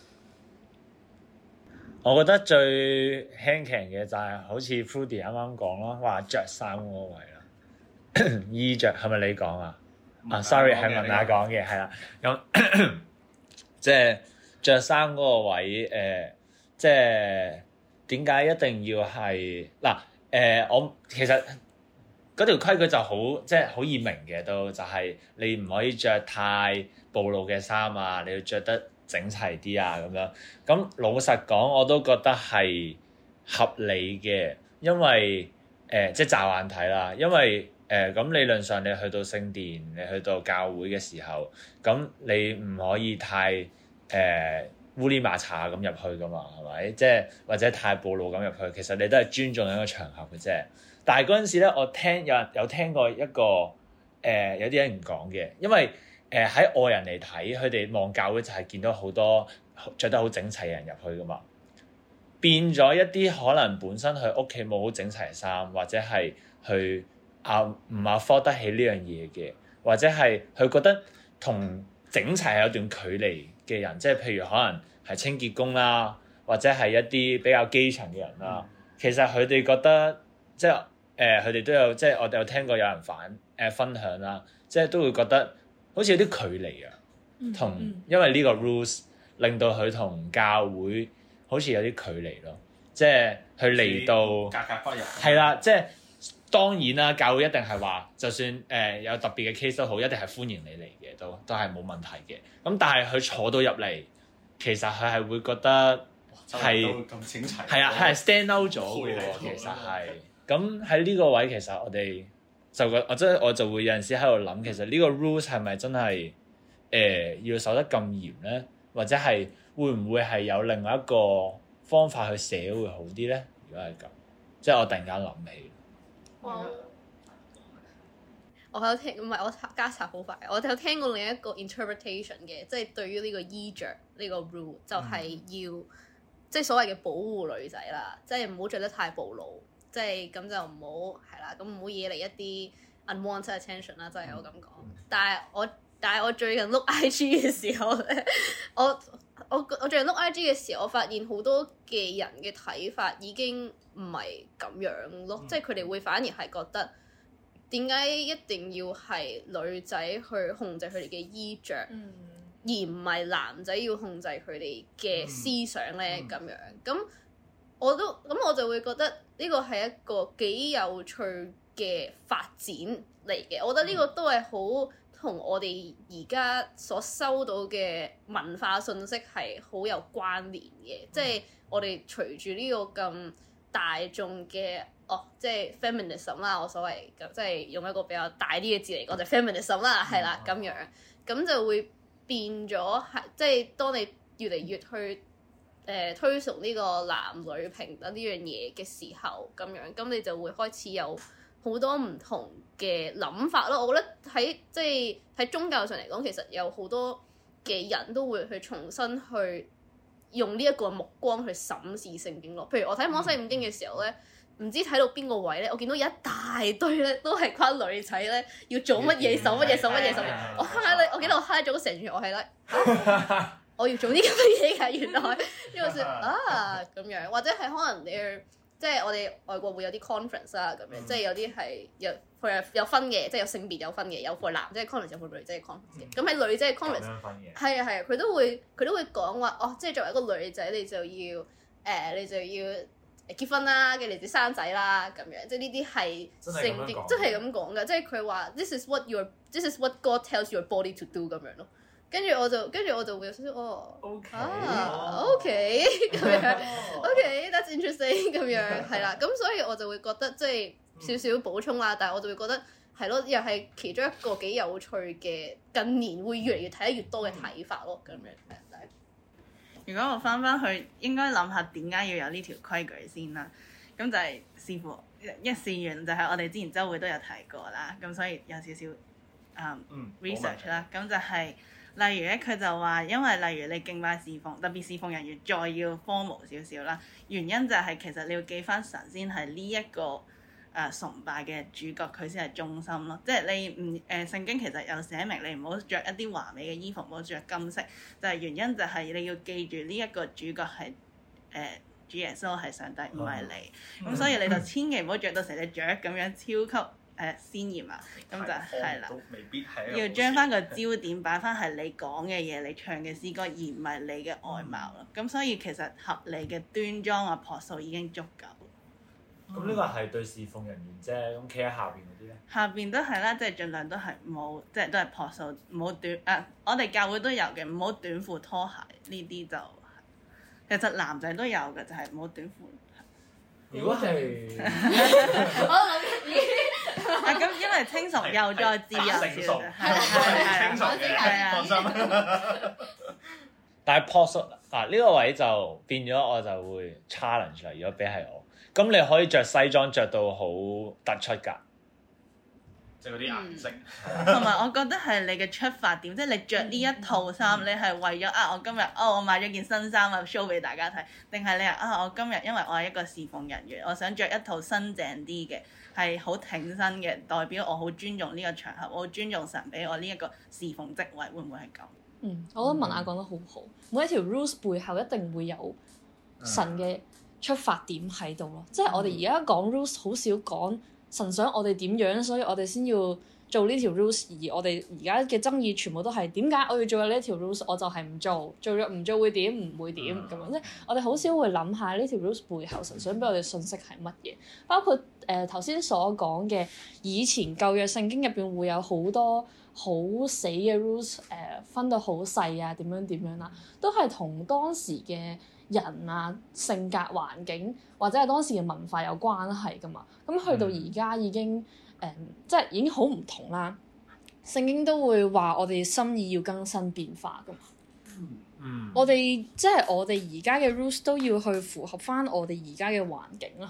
我覺得最輕強嘅就係好似 Prudy 啱啱講咯，話着衫嗰個位啦，衣着係咪你講啊？Sorry 係文雅講嘅，係啦。咁即係着衫嗰個位，即係點解一定要係嗱？我其實嗰條規矩就好，即係好易明嘅都，就係你唔可以着太暴露嘅衫啊，你要着得整齊啲啊咁樣。咁老實講，我都覺得係合理嘅，因為即係驟眼睇啦，因為咁理論上你去到聖殿，你去到教會嘅時候，咁你唔可以太烏哩麻茶咁入去噶嘛，係咪？即係或者太暴露咁入去，其實你都係尊重一個場合嘅啫。但係嗰陣時咧，我有聽過一個有啲人唔講嘅，因為喺外人嚟睇，佢哋望教會就係見到好多着得好整齊嘅人入去噶嘛，變咗一啲可能本身佢屋企冇好整齊嘅衫，或者係去唔afford得起呢樣嘢嘅， 或者係佢覺得同整齊係有段距離嘅人，即係譬如可能係清潔工啦，或者係一啲比較基層嘅人啦。其實佢哋覺得即係佢哋都有即係我哋有聽過有人分享啦，即係都會覺得好似有啲距離啊，同因為呢個 rules 令到佢同教會好似有啲距離咯，即係佢嚟到格格不入。 係啦，即係當然啦，教會一定係話，就算有特別嘅 case 都好，一定係歡迎你嚟嘅，都係冇問題嘅。咁但係佢坐到入嚟，其實佢係會覺得係咁整齊， 係啊，係 stand out 咗嘅喎。其實係咁喺呢個位，其實我哋我就會有陣時喺度諗，其實呢個 rules 係咪真係要守得咁嚴咧？或者係會唔會係有另外一個方法去寫會好啲咧？如果係咁，即係我突然間諗起。 我有聽，唔係我加插好快。我有聽過另一個 interpretation 嘅，即係對於呢個衣着呢個 rule 就係要即係所謂嘅保護女仔啦，即係唔好着得太暴露，即係咁就唔好係啦，咁唔好惹嚟一啲 unwanted attention 啦，即係我咁講。但係我最近碌 IG 嘅時候咧，我最近碌 IG 嘅時候，我發現好多嘅人嘅睇法已經唔係咁樣咯，即係佢哋會反而係覺得點解一定要係女仔去控制佢哋嘅衣着，而唔係男仔要控制佢哋嘅思想咧咁樣。咁我就會覺得呢個係一個幾有趣嘅發展嚟嘅。我覺得呢個都係好同我哋而家所收到嘅文化信息係好有關聯嘅，即係我哋隨住呢個咁大眾嘅即係 feminism 啦，我所謂即係用一個比較大啲嘅字嚟講就 feminism 啦，係啦咁樣，咁就會變咗係即係當你越嚟越去推崇呢個男女平等呢樣嘢嘅時候，咁樣咁你就會開始有好多唔同嘅諗法咯。我覺得即係喺宗教上嚟講，其實有好多嘅人都會去重新去用呢一個目光去審視聖經咯。譬如我睇摩西五經嘅時候咧，唔知睇到邊個位咧，我見到有一大堆咧都係關女仔咧要做乜嘢守乜嘢守乜嘢守乜嘢。我記得我 high 咗成段，我係咧我要做啲咁嘅嘢㗎，原來呢個說咁樣，或者係可能你即係我哋外國會有啲 conference 啦咁樣，即係有啲係有分嘅，即係有性別有分嘅，有 for 男仔嘅 conference 有 for 女仔嘅 conference 嘅。咁喺女仔嘅 conference 係啊，佢都會講話即係作為一個女仔你就要結婚啦，跟住你哋生仔啦咁樣，即係呢啲係聖經真係咁講㗎，即係佢話 this is what God tells your body to do 咁樣咯。跟住我就會有少少OK 咁樣，OK that's interesting 咁樣係啦，咁所以我就會覺得即係少少補充啦，但係我就會覺得係咯，又係其中一個幾有趣嘅近年會越嚟越睇得越多嘅睇法咯，咁樣係。 如果我翻去，應該諗下點解要有呢條規矩先啦。咁就係視乎試完就係我哋之前週會都有提過啦，咁所以有少少research 啦。咁就係例如咧，佢就話因為例如你敬拜侍奉，特別侍奉人員再要 formal 少少啦，原因就係其實你要記翻神先係呢一個崇拜嘅主角，佢先係中心咯。即係你聖經其實有寫明你唔好着一啲華美嘅衣服，唔好着金色，就係原因就係你要記住呢一個主角係主耶穌係上帝，唔係你。咁所以你就千祈唔好着到成隻雀咁樣超級鮮豔啊！咁就係啦，要將翻個焦點擺翻係你講嘅嘢，你唱嘅詩歌，而唔係你嘅外貌咯。咁所以其實合理嘅端莊啊樸素已經足夠。 咁呢個係對侍奉人員啫，咁企喺下邊嗰啲咧？下邊都係啦，即係盡量都係冇，即係都係樸素，唔好短我哋教會都有嘅，唔好短褲拖鞋呢啲就，其實男仔都有嘅，就係唔好短褲。 如果係， 我諗咁因為清純又再自由少少， 清純嘅，放心。 但係樸素呢個位就變咗，我就會 challenge 啦。如果俾係我。咁你可以着西裝着到好突出㗎， 即係嗰啲顏色。 同埋我覺得係你嘅出發點，即係你着呢一套衫，你係為咗我今日我買咗件新衫啊 show 俾大家睇，定係你我今日因為我係一個侍奉人員，我想着一套新淨啲嘅係好挺身嘅，代表我好尊重呢個場合，我好尊重神俾我呢一個侍奉職位，會唔會係咁？ 我覺得文雅講得好好，每一條 rules 背後一定會有神嘅出發點喺度咯。即係我哋而家講 rules 好少講神想我哋點樣，所以我哋先要做呢條 rules。而我哋而家嘅爭議全部都係點解我要做呢一條 rules，我就係唔做，做咗唔做會點，唔會點咁樣。即係我哋好少會諗下呢條 rules 背後神想俾我哋信息係乜嘢。包括頭先所講嘅以前舊約聖經入邊會有好多好死嘅 rules， 分到好細啊，點樣啦，都係同當時嘅人啊、性格、環境或者係當時嘅文化有關係噶嘛。咁去到而家已經即係已經好唔同啦。聖經都會話我哋心意要更新變化噶嘛。我哋即係我哋而家嘅 rules 都要去符合翻我哋而家嘅環境咯。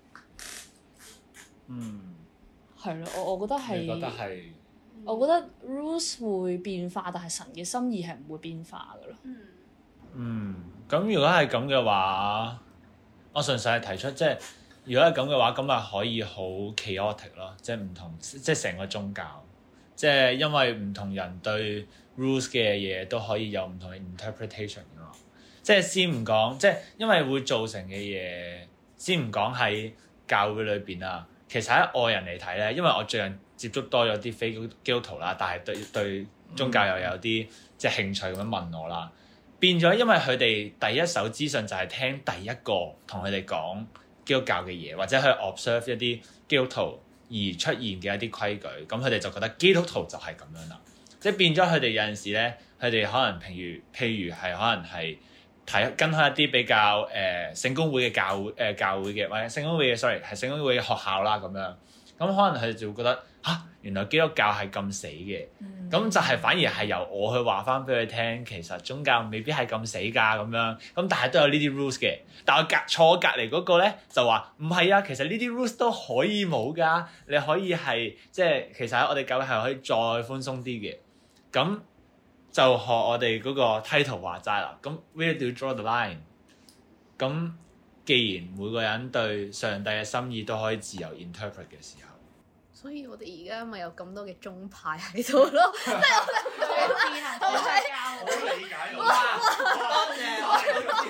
係咯，我覺得係。我覺得 rules 會變化，但係神嘅心意係唔會變化㗎咯。 咁如果係咁嘅話，我純粹係提出，即係如果係咁嘅話，咁咪可以好 chaotic 咯，即係唔同，即係成個宗教，即係因為唔同人對 rules 嘅嘢都可以有唔同嘅 interpretation 㗎嘛。即係先唔講，即係因為會造成嘅嘢，先唔講喺教會裏邊啊。其實喺外人嚟睇咧，因為我最近接觸多咗啲非基督徒啦，但係對宗教又有啲即係興趣咁樣問我啦，變咗因為佢哋第一手資訊就係聽第一個同佢哋講基督教嘅嘢，或者去 observe 一啲基督徒而出現嘅一啲規矩，咁佢哋就覺得基督徒就係咁樣啦，即係變咗佢哋有陣時咧，佢哋可能譬如係可能係跟開一啲比較聖公會嘅教會嘅，或者聖公會嘅係聖公會嘅學校啦咁樣，咁可能佢哋就會覺得原來基督教係咁死嘅，咁就係反而係由我去話翻俾佢聽，其實宗教未必係咁死㗎咁樣，咁但係都有呢啲 rules 嘅。但我坐隔離嗰個咧就話唔係啊，其實呢啲 rules 都可以冇㗎，你可以係即係其實喺我哋教會係可以再寬鬆啲嘅。咁就學我哋嗰個 title 話齋啦。咁 where do you draw the line？ 咁既然每個人對上帝嘅心意都可以自由 interpret 嘅時候， 所以我哋而家咪有咁多嘅宗派喺度咯，即係我哋唔講好理解哇！多謝。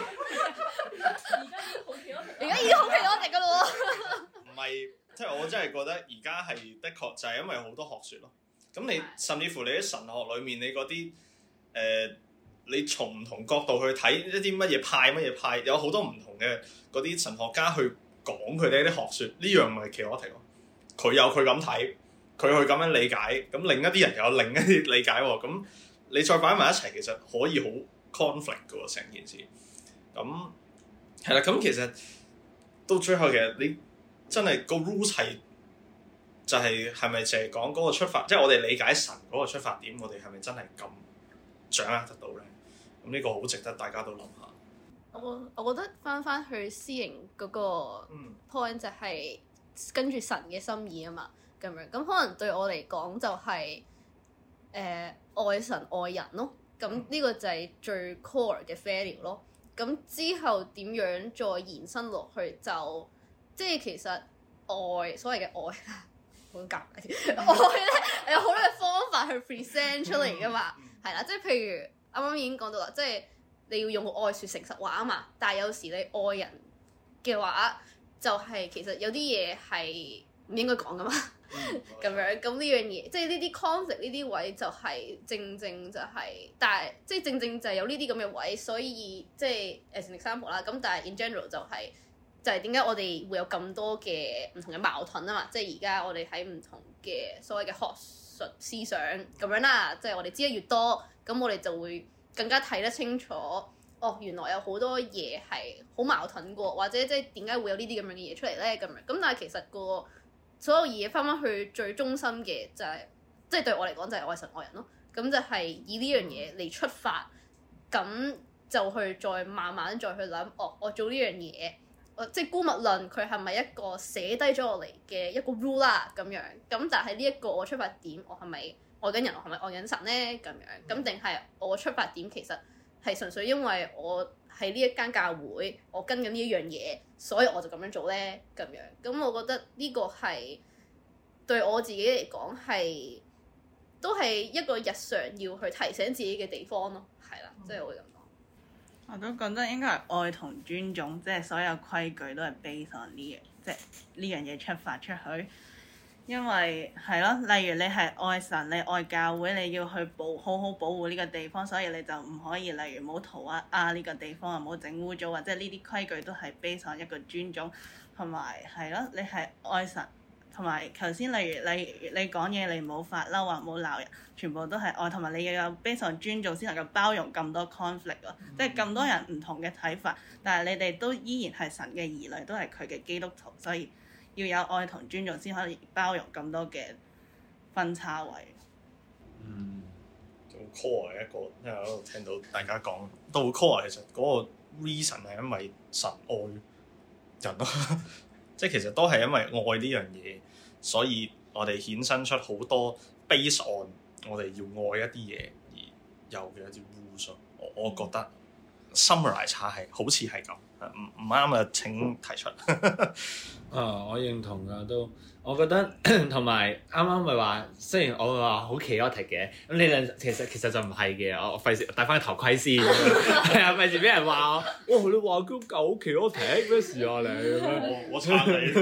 而家已經好奇我哋噶咯喎。 唔係，即係我真係覺得而家係的確就係因為好多學説咯。咁你甚至乎你喺神學裏面，你嗰啲你從唔同角度去睇一啲乜嘢派，有好多唔同嘅嗰啲神學家去講佢哋啲學説，呢樣咪奇我題咯。佢有佢咁睇，佢去咁樣理解，咁另一啲人有另一啲理解喎。咁你再擺埋一齊，其實可以好 conflict 嘅喎成件事。咁係啦，咁其實到最後其實你真係個 rules 係就係咪淨係講嗰個出發，即係我哋理解神嗰個出發點，我哋係咪真係咁掌握得到咧？咁呢個好值得大家都諗下。 我覺得翻去私營嗰個 point 就係跟住神嘅心意啊嘛，咁樣咁可能對我嚟講就係愛神愛人咯。咁呢個就係最 core 嘅 value 咯。咁之後點樣再延伸落去就即係其實愛所謂嘅愛好夾嘅愛咧有好多嘅方法去 present 出嚟噶嘛，係啦，即係譬如啱啱已經講到啦，即係你要用愛説誠實話啊嘛，但係有時你愛人嘅話就係其實有啲嘢係唔應該講噶嘛，咁樣咁呢樣嘢，即係呢啲 conflict 呢啲位就係正就係，但係即係正就係有呢啲咁嘅位，所以即係as an example啦，咁但係 in general 就係點解我哋會有咁多嘅唔同嘅矛盾啊嘛，即係而家我哋喺唔同嘅所謂嘅學術思想咁樣啦，即係我哋知得越多，咁我哋就會更加睇得清楚，原來有好多嘢係好矛盾過，或者即係點解會有呢啲咁樣嘅嘢出嚟咧？咁樣咁，但係其實個所有嘢翻去最中心嘅就係，即係對我嚟講就係愛神愛人咯。咁就係以呢樣嘢嚟出發，咁就去再慢慢再去諗，我做呢樣嘢，即係姑勿論佢係咪一個寫低咗落嚟嘅一個 rule 啦咁樣。咁但係呢一個我出發點，我係咪愛緊人，我係咪愛緊神咧？咁樣咁定係我出發點其實係純粹因為我喺呢一間教會，我跟緊呢一樣嘢，所以我就咁樣做咧咁樣。咁我覺得呢個係對我自己嚟講係都係一個日常要去提醒自己嘅地方咯，係啦，即係我會咁講。 我都覺得應該係愛同尊重，即係所有規矩都係 base on 呢樣，即係呢樣嘢出發出去。因為係咯，例如你係愛神，你愛教會，你要去好好保護呢個地方，所以你就唔可以例如唔好塗鴉呢個地方啊，唔好整污糟，或者呢啲規矩都係 base on 一個尊重，同埋係咯，你係愛神，同埋頭先例如你講嘢，你唔好發嬲啊，唔好鬧人，全部都係愛，同埋你要有 base on 尊重先能夠包容咁多 conflict 咯，即係咁多人唔同嘅睇法，但係你哋都依然係神嘅兒女，都係佢嘅基督徒，所以要有愛同尊重先可以包容咁多嘅分叉位。 好 core 嘅一個，因為我喺度聽到大家講都好 core，其實嗰個 reason 係因為神愛人咯，即係其實都係因為愛呢樣嘢，所以我哋衍生出好多 base on 我哋要愛一啲嘢而有嘅一啲 rules。我覺得 summarize 下係好似係咁，唔啱啊！請提出。 我認同㗎都，我覺得同埋啱啱咪話，雖然我話好 chaotic 嘅，咁你兩其實就唔係嘅，我費事戴翻個頭盔先，係啊，費事俾人話我，哇！你話佢狗好 chaotic 咩事啊你咁樣， 我撐你。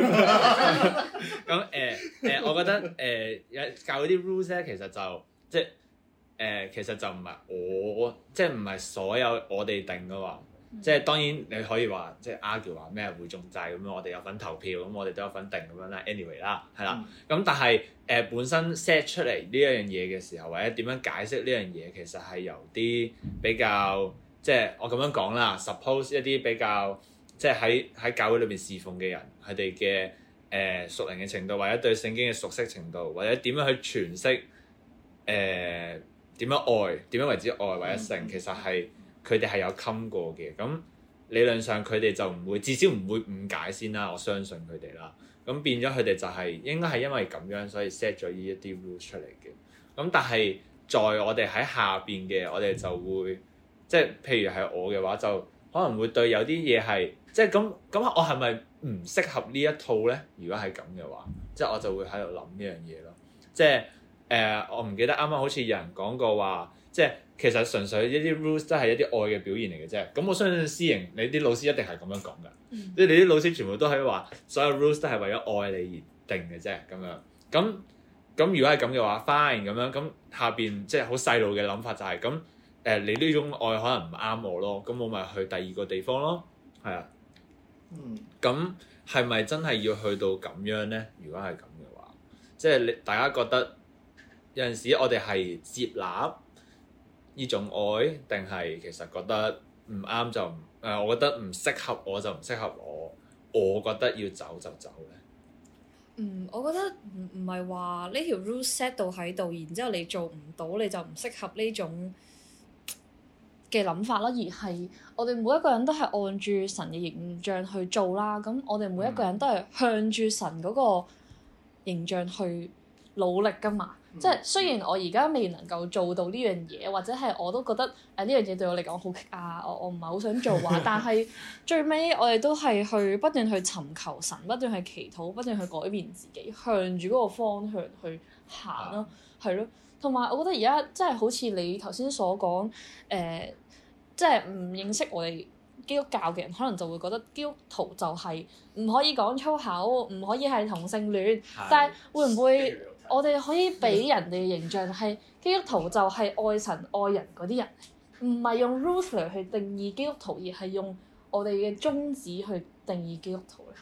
咁我覺得教嗰啲 rules 咧，其實就即係其實就唔係我，即係唔係所有我哋定嘅話。即係當然你可以話即係 argue 話咩會中債咁樣，我哋有份投票，咁我哋都有份定咁樣啦。anyway 啦，係啦。咁但係本身 set 出嚟呢一樣嘢嘅時候，或者點樣解釋呢樣嘢，其實係由啲比較即係我咁樣講啦。suppose 一啲比較即係喺教會裏邊侍奉嘅人，佢哋嘅屬靈嘅程度，或者對聖經嘅熟悉程度，或者點樣去詮釋點樣愛，點樣為之愛或者性，其實係。佢哋係有冚過嘅，咁理論上佢哋就唔會，至少唔會誤解先啦。我相信佢哋啦。咁變咗佢哋就係應該係因為咁樣，所以 set 咗呢一啲 rules 出嚟嘅。咁但係在我哋喺下邊嘅，我哋就會即係譬如係我嘅話，就可能會對有啲嘢係即係咁，我係咪唔適合呢一套咧？如果係咁嘅話，即係我就會喺度諗呢樣嘢咯。即係我唔記得啱啱好似有人講過話，即係。其實純粹一啲 rules 都係一啲愛嘅表現嚟嘅啫。咁我相信私營你啲老師一定係咁樣講㗎。即係你啲老師全部都係話，所有 rules 都係為咗愛你而定嘅啫。咁樣咁如果係咁嘅話 fine 咁樣。咁下邊即係好細路嘅諗法就係咁你呢種愛可能唔啱我咯。咁我咪去第二個地方咯。係啊。咁係咪真係要去到咁樣咧？如果係咁嘅話，即係大家覺得有陣時我哋係接納呢種愛，定係其實覺得唔啱就我覺得唔適合我就唔適合我覺得要走就走咧。 我覺得唔係話呢條 rule set 到喺度，然之後你做唔到你就唔適合呢種嘅諗法啦，而係我哋每一個人都係按住神嘅形象去做啦。咁我哋每一個人都係向住神嗰個形象去努力㗎嘛。即係雖然我而家未能夠做到呢樣嘢，或者係我都覺得呢樣嘢對我嚟講好棘啊，我唔係好想做啊。但係最尾我哋都係去不斷去尋求神，不斷去祈禱，不斷去改變自己，向住嗰個方向去行咯，係咯。同埋我覺得而家即係好似你頭先所講，即係唔認識我哋基督教嘅人，可能就會覺得基督徒就係唔可以講粗口，唔可以係同性戀，但係會唔會？我哋可以俾人哋嘅形象係基督徒就係愛神愛人嗰啲人，唔係用 rules 嚟去定義基督徒，而係用我哋嘅宗旨去定義基督徒咧。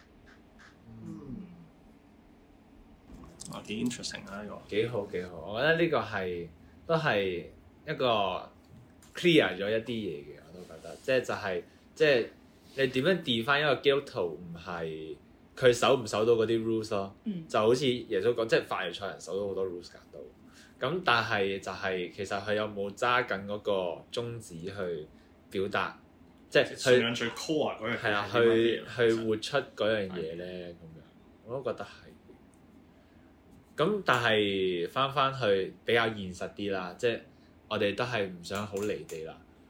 幾 interesting 啊！呢個幾好，我覺得呢個都係一個 clear 咗一啲嘢嘅，我都覺得，即係你點樣 define 一個基督徒唔係？佢守唔守到嗰啲 rules 咯，就好似耶穌講，即係法利賽人守到好多 rules 㗎都。咁但係就係其實佢有冇揸緊嗰個宗旨去表達，即係信仰最 core 嗰樣嘢係啦， 去活出嗰樣嘢咧咁樣，我都覺得係。咁但係翻去比較現實啲啦，即係我哋都係唔想好離地啦。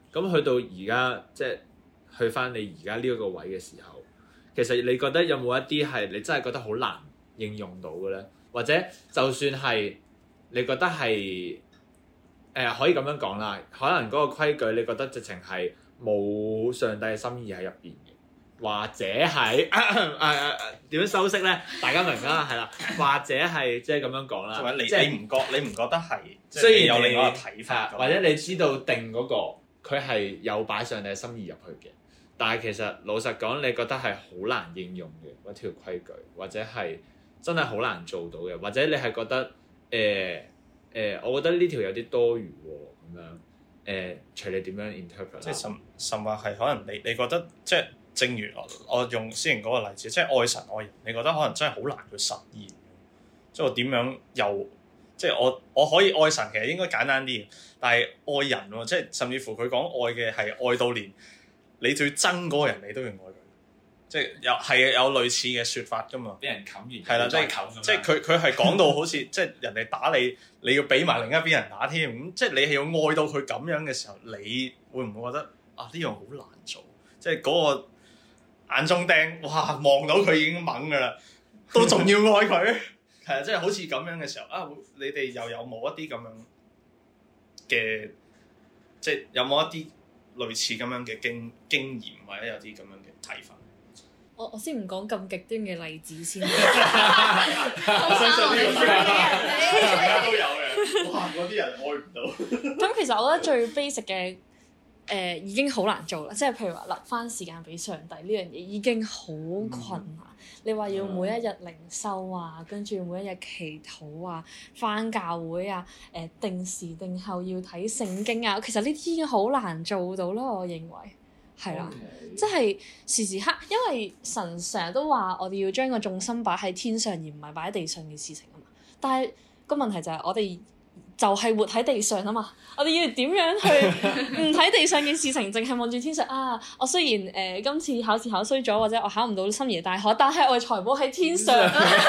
咁去到而家即係去翻你而家呢一個位嘅時候，其實你覺得有冇一啲係你真係覺得好難應用到嘅咧？或者就算係你覺得係可以咁樣講啦，可能嗰個規矩你覺得直情係冇上帝嘅心意喺入邊嘅，或者係點樣修飾咧？大家明啦，係啦，或者係即係咁樣講啦， 你唔覺得係？ 雖然有另外一個睇法， 或者你知道定嗰個佢係有擺上帝嘅心意入去嘅，但係其實老實講，你覺得係好難應用嘅嗰條規矩，或者係真係好難做到嘅，或者你係覺得我覺得呢條有啲多餘喎咁樣隨你點樣 interpret 即係甚或係可能你覺得即係正如我用先前嗰個例子，即係愛神愛人，你覺得可能真係好難去實現。即係我點樣又即係我可以愛神，其實應該簡單啲嘅，但係愛人喎，即係甚至乎佢講愛嘅係愛到連你最憎嗰個人，你都要愛佢。即係有類似嘅説法㗎嘛， 俾人冚完， 係啦，即係佢係講到好似即係人哋打你，你要俾埋另一邊人打添，咁即係你係要愛到佢咁樣嘅時候，你會唔會覺得呢樣好難做？即係嗰個眼中釘，哇望到佢已經猛㗎啦，都仲要愛佢，係啊，即係好似咁樣嘅時候你哋又有冇一啲咁樣嘅，即係有冇一啲類似咁樣嘅經驗，或者有啲咁樣嘅睇法？ 我先唔講咁極端嘅例子先。 我相信呢個大家都有嘅。哇！嗰啲人愛唔到。 咁其實我覺得最 basic 嘅已經好難做啦，即係譬如話留翻時間俾上帝呢樣嘢已經好困難。你話要每一日靈修啊，跟住每一日祈禱啊，翻教會啊，定時定候要睇聖經啊，其實呢啲已經好難做到啦，我認為。係啦，即係時時刻，因為神成日都話我哋要將個重心擺喺天上，而唔係擺喺地上嘅事情啊嘛。但係個問題就係我哋就係活喺地上啊嘛。我哋要點樣去唔睇地上嘅事情，淨係望住天上啊？我雖然今次考試考衰咗，或者我考唔到心儀大學，但係我嘅財寶喺天上，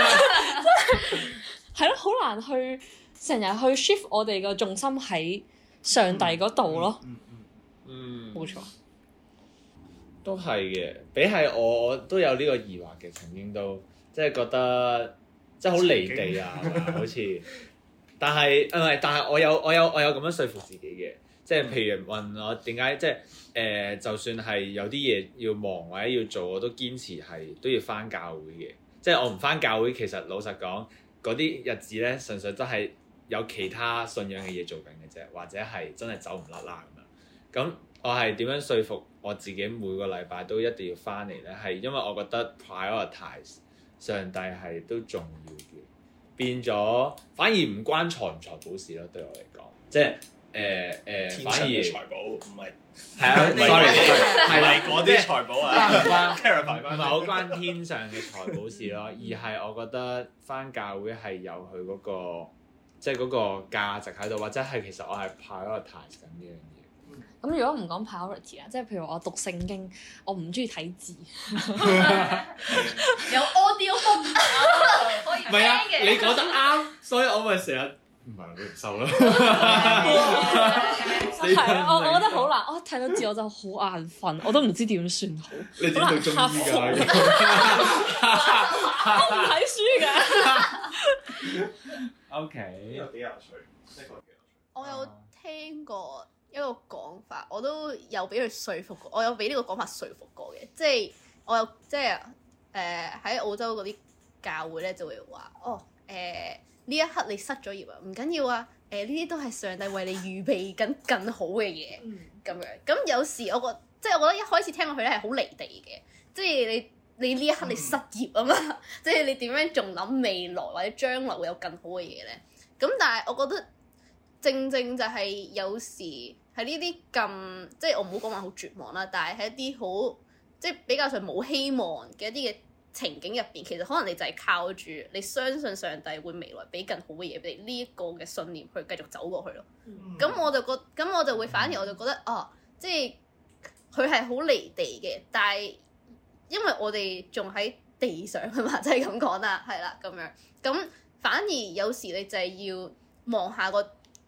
係咯，好難去成日去 shift 我哋個重心喺上帝嗰度咯。冇錯。 都係嘅，比起我都有呢個疑惑嘅，曾經都即係覺得即係好離地啊，好似。但係但係我有咁樣說服自己嘅，即係譬如問我點解即係就算係有啲嘢要忙或者要做，我都堅持係都要返教會嘅。即係我唔返教會，其實老實講嗰啲日子咧，純粹都係有其他信仰嘅嘢做緊嘅啫，或者係真係走唔甩啦咁樣。咁我係點樣說服我自己每個禮拜都一定要翻嚟咧？係因為我覺得 prioritize 上帝係都重要嘅，變咗反而唔關財唔財寶事咯。對我嚟講，即係反而財寶唔係係啊，sorry 係啦， 嗰啲財寶啊， 唔係好關天上嘅財寶事咯，而係我覺得翻教會係有佢嗰個即係嗰個價值喺度，或者係其實我係 prioritize 緊呢樣嘢。 咁如果唔講 priority 啊，即係譬如我讀聖經，我唔中意睇字， 有 audio book 可以聽嘅。 唔係啊，你講得啱，所以我咪成日唔係你唔收咯。 係啊，我覺得好難，我睇到字我就好眼瞓，我都唔知點算好。 你點讀中醫㗎？ 我唔睇書㗎。 OK， 有幾有趣，呢個幾有趣。 我有聽過一個講法，我都有俾佢說服過，我有俾呢個講法說服過嘅，即係我有即係喺澳洲嗰啲教會咧就會話呢一刻你失咗業啊，唔緊要啊，呢啲都係上帝為你預備緊更好嘅嘢咁樣。咁有時我覺得一開始聽落去咧係好離地嘅，即係你呢一刻你失業啊嘛，即係你點樣仲諗未來或者將來會有更好嘅嘢咧？咁但係我覺得正正就係有時喺呢啲咁即係我唔好講話好絕望啦，但係喺一啲好即係比較上冇希望嘅一啲嘅情景入邊，其實可能你就係靠住你相信上帝會未來俾更好嘅嘢俾你呢一個嘅信念去繼續走過去咯。咁我就會反而我就覺得即係佢係好離地嘅，但係因為我哋仲喺地上啊嘛，即係咁講啦，係啦咁樣。咁反而有時你就係要望下個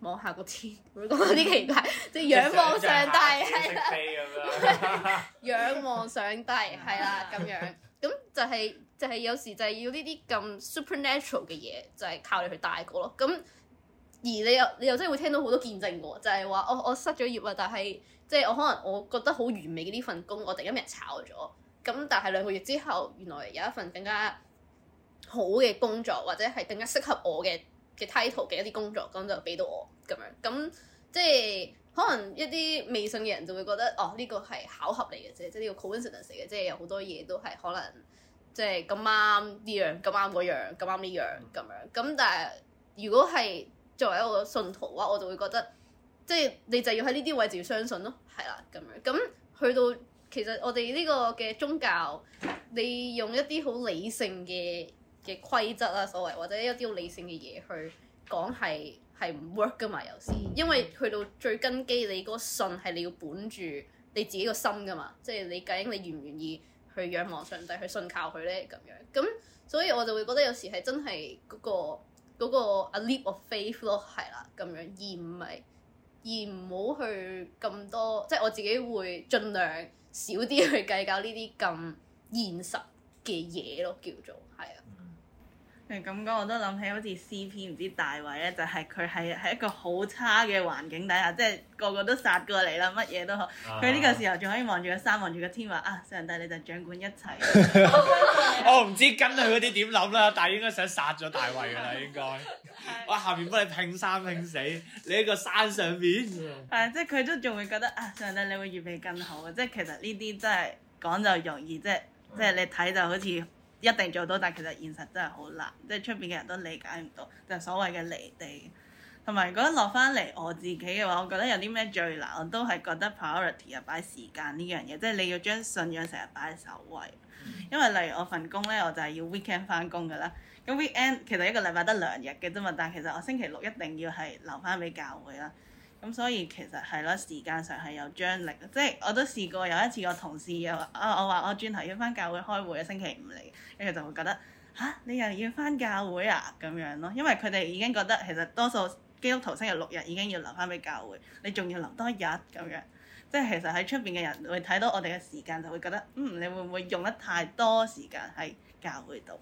望下個天，會講啲奇怪，即係仰望上帝係啦，仰望上帝係啦咁樣，咁就係有時就係要呢啲咁 supernatural 嘅嘢，就係靠你去帶過咯。咁而你又真係會聽到好多見證喎，就係話我失咗業啊，但係即係我可能我覺得好完美嘅呢份工，我突然間俾人炒咗，咁但係2個月之後，原來有一份更加好嘅工作，或者係更加適合我嘅 title 嘅一啲工作，咁就俾到我咁樣。咁即係可能一啲未信嘅人就會覺得呢個係巧合嚟嘅啫，即係呢個 coincidence 嚟嘅，即係有好多嘢都係可能即係咁啱呢樣，咁啱嗰樣，咁啱呢樣咁樣。咁但係如果係作為一個信徒嘅話，我就會覺得即係你就要喺呢啲位置要相信咯，係啦咁樣。咁去到其實我哋呢個嘅宗教，你用一啲好理性嘅規則啦，所謂或者一啲好理性嘅嘢去講係唔 work 噶嘛，有時因為去到最根基，你嗰個信係你要本住你自己個心噶嘛，即係你究竟你願唔願意去仰望上帝去信靠佢咧咁樣。咁所以我就會覺得有時係真係嗰個 a leap of faith 咯，係啦咁樣，而唔好去咁多，即係我自己會盡量少啲去計較呢啲咁現實嘅嘢咯，叫做係啊。 咁講我都諗起好似 CP 唔知大衛咧，就係佢係喺一個好差嘅環境底下，即係個個都殺過嚟啦，乜嘢都好。佢呢個時候仲可以望住個山，望住個天話上帝你就掌管一切。 我唔知跟佢嗰啲點諗啦，但係應該想殺咗大衛㗎啦，應該。我下面幫你拼生拼死，你喺個山上邊。 即係佢都仲會覺得上帝你會預備更好嘅，即係其實呢啲真係講就容易，即係你睇就好似一定做到，但其實現實真係好難，即係出邊嘅人都理解唔到，就係所謂嘅離地。同埋如果落翻嚟我自己嘅話，我覺得有啲咩最難，我都係覺得 priority 擺時間呢樣嘢，即係你要將信仰成日擺喺首位。因為例如我份工咧，我就係要 weekend 翻工㗎啦。咁 weekend 其實一個禮拜得2日嘅啫嘛，但其實我星期6一定要係留翻俾教會啦。咁所以其實係咯，時間上係有張力，即係我都試過有一次個同事又話我話我轉頭要翻教會開會，星期5嚟，跟住就會覺得你又要翻教會啊咁樣咯，因為佢哋已經覺得其實多數基督徒星期6日已經要留翻俾教會，你仲要留多1日咁樣，即係其實喺出邊嘅人會睇到我哋嘅時間就會覺得你會唔會用得太多時間喺教會度？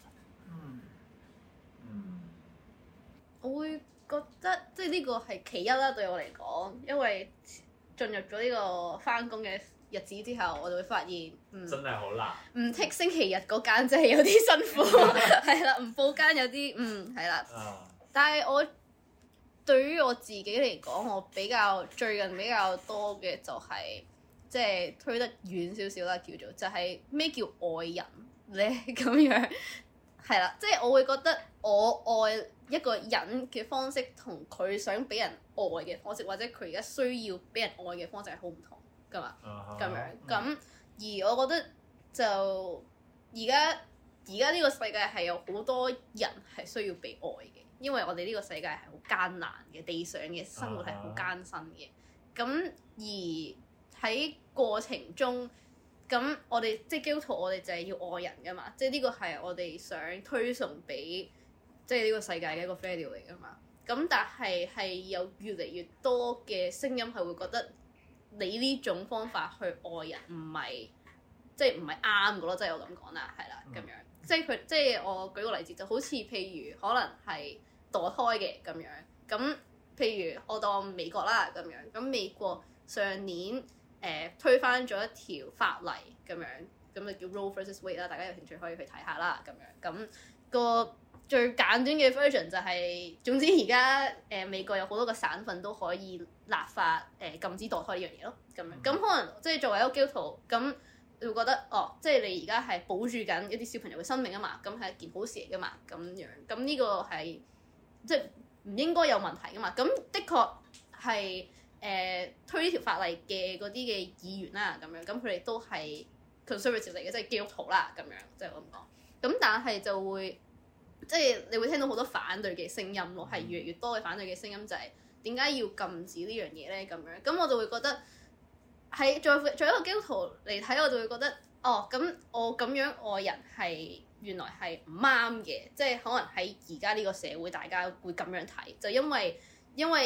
我會覺得即係呢個係其一啦，對我嚟講，因為進入咗呢個翻工嘅日子之後，我就會發現， 真係好難。 唔剔星期日嗰間真係有啲辛苦，係啦，唔報間有啲係啦。但係我對於我自己嚟講，我最近比較多嘅就係即係推得遠少少啦，叫做就係咩叫愛人咧咁樣。係啦，即係我會覺得我愛一個人嘅方式同佢想俾人愛嘅方式，或者佢而家需要俾人愛嘅方式係好唔同噶嘛，咁樣咁。而我覺得就而家呢個世界係有好多人係需要被愛嘅，因為我哋呢個世界係好艱難嘅，地上嘅生活係好艱辛嘅。咁而喺過程中，咁我哋即係基督徒，我哋就係要愛人噶嘛，即係呢個係我哋想推崇俾即係呢個世界嘅一個 value 嚟噶嘛。咁但係有越嚟越多嘅聲音係會覺得你呢種方法去愛人唔係啱嘅咯，即係我咁講啦，係啦咁樣。即係我舉個例子，就好似譬如可能係墮胎嘅咁樣。咁譬如我當美國啦咁樣，咁美國上年推翻咗一條法例咁樣，咁就叫 Roe vs Wade 啦，大家有興趣可以去睇下啦咁樣。咁個最簡短嘅 version 就係，總之而家美國有好多個省份都可以立法禁止墮胎呢樣嘢咯，咁樣。咁可能即係作為一個基督徒，咁你會覺得即係你而家係保住緊一啲小朋友嘅生命啊嘛，咁係一件好事嚟噶嘛，咁樣。咁呢個係即係唔應該有問題噶嘛。咁的確係推呢條法例嘅嗰啲嘅議員啦，咁樣，咁佢哋都係 conservative 嚟嘅，即係基督徒啦，咁樣，即係我咁講。咁但係就會即係你會聽到好多反對嘅聲音咯，係越嚟越多嘅反對嘅聲音，就係點解要禁止呢樣嘢咧？咁樣，咁我就會覺得喺作為一個基督徒嚟睇，我就會覺得咁我咁樣愛人係原來係唔啱嘅，即係可能喺而家呢個社會大家會咁樣睇，就因為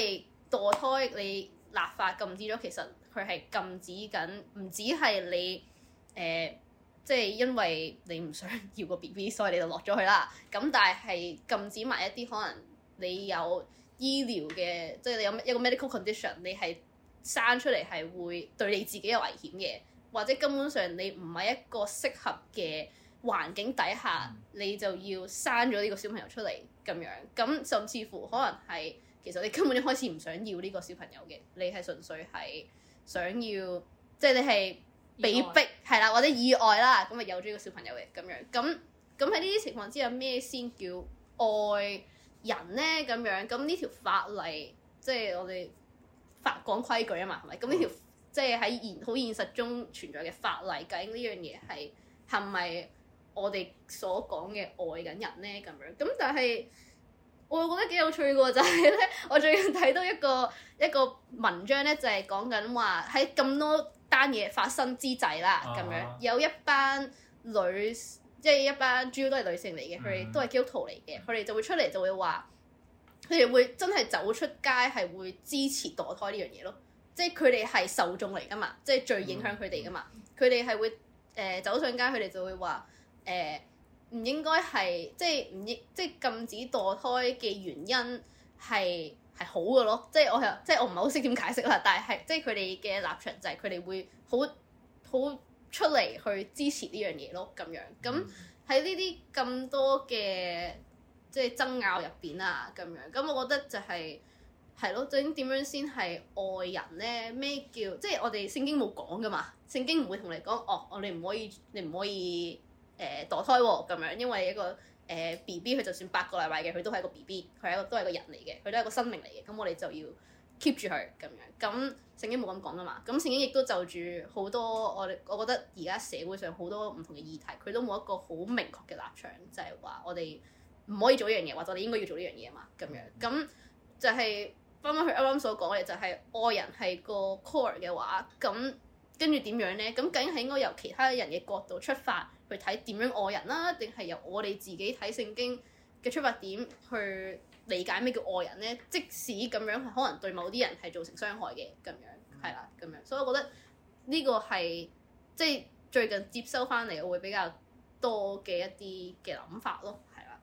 墮胎你立法禁止咗，其實佢係禁止緊，唔止係你即係因為你唔想要個 BB， 所以你就落咗去啦。咁但係禁止埋一啲可能你有醫療嘅，即係你有一個 medical condition， 你係生出嚟係會對你自己有危險嘅，或者根本上你唔係一個適合嘅環境底下，你就要生咗呢個小朋友出嚟咁樣。咁甚至乎可能係其實你根本一開始唔想要呢個小朋友嘅，你係純粹係想要，即係你係被逼係啦，或者意外啦，咁啊有咗呢個小朋友嘅咁樣。咁喺呢啲情況之下，咩先叫愛人咧？咁樣咁呢條法例，即係我哋講規矩啊嘛，係咪？咁呢條即係喺好現實中存在嘅法例，究竟呢樣嘢係咪我哋所講嘅愛緊人咧？咁樣咁，但係我覺得幾有趣嘅喎，就係咧，我最近睇到一個文章咧，就係講緊話喺咁多單嘢發生之際啦，咁樣有一班女，即係一班主要都係女性嚟嘅，佢哋都係基督徒嚟嘅，佢哋就會出嚟就會話，佢哋會真係走出街係會支持墮胎呢樣嘢咯，即係佢哋係受眾嚟噶嘛，即係最影響佢哋噶嘛，佢哋係會走上街，佢哋就會話唔應該係即係禁止墮胎嘅原因係好嘅咯，即係我唔係好識點解釋啦，但係即係佢哋嘅立場就係佢哋會好出嚟去支持呢樣嘢咯，咁樣咁喺呢啲咁多嘅即係爭拗入邊啊，咁樣咁我覺得就係咯，究竟點樣先係愛人咧？咩叫即係我哋聖經冇講噶嘛？聖經唔會同你講你唔可以墮胎喎咁樣，因為一個BB 佢就算8個禮拜嘅，佢都係一個 BB， 佢都係個人嚟嘅，佢都係一個生命嚟嘅，咁我哋就要 keep 住佢咁樣。咁聖經冇咁講噶嘛，咁聖經亦都就住好多我覺得而家社會上好多唔同嘅議題，佢都冇一個好明確嘅立場，就係話我哋唔可以做呢樣嘢，或者我哋應該要做呢樣嘢啊嘛，咁樣咁就係翻返去啱啱所講嘅，就係愛人係個 core 嘅話，咁跟住點樣咧？咁究竟係應該由其他人嘅角度出發去睇點樣愛人啦，定係由我哋自己睇聖經嘅出發點去理解咩叫愛人咧？即使咁樣係可能對某啲人係造成傷害嘅咁樣，係啦咁樣，所以我覺得呢個係即係最近接收翻嚟，我會比較多嘅一啲嘅諗法咯，係啦。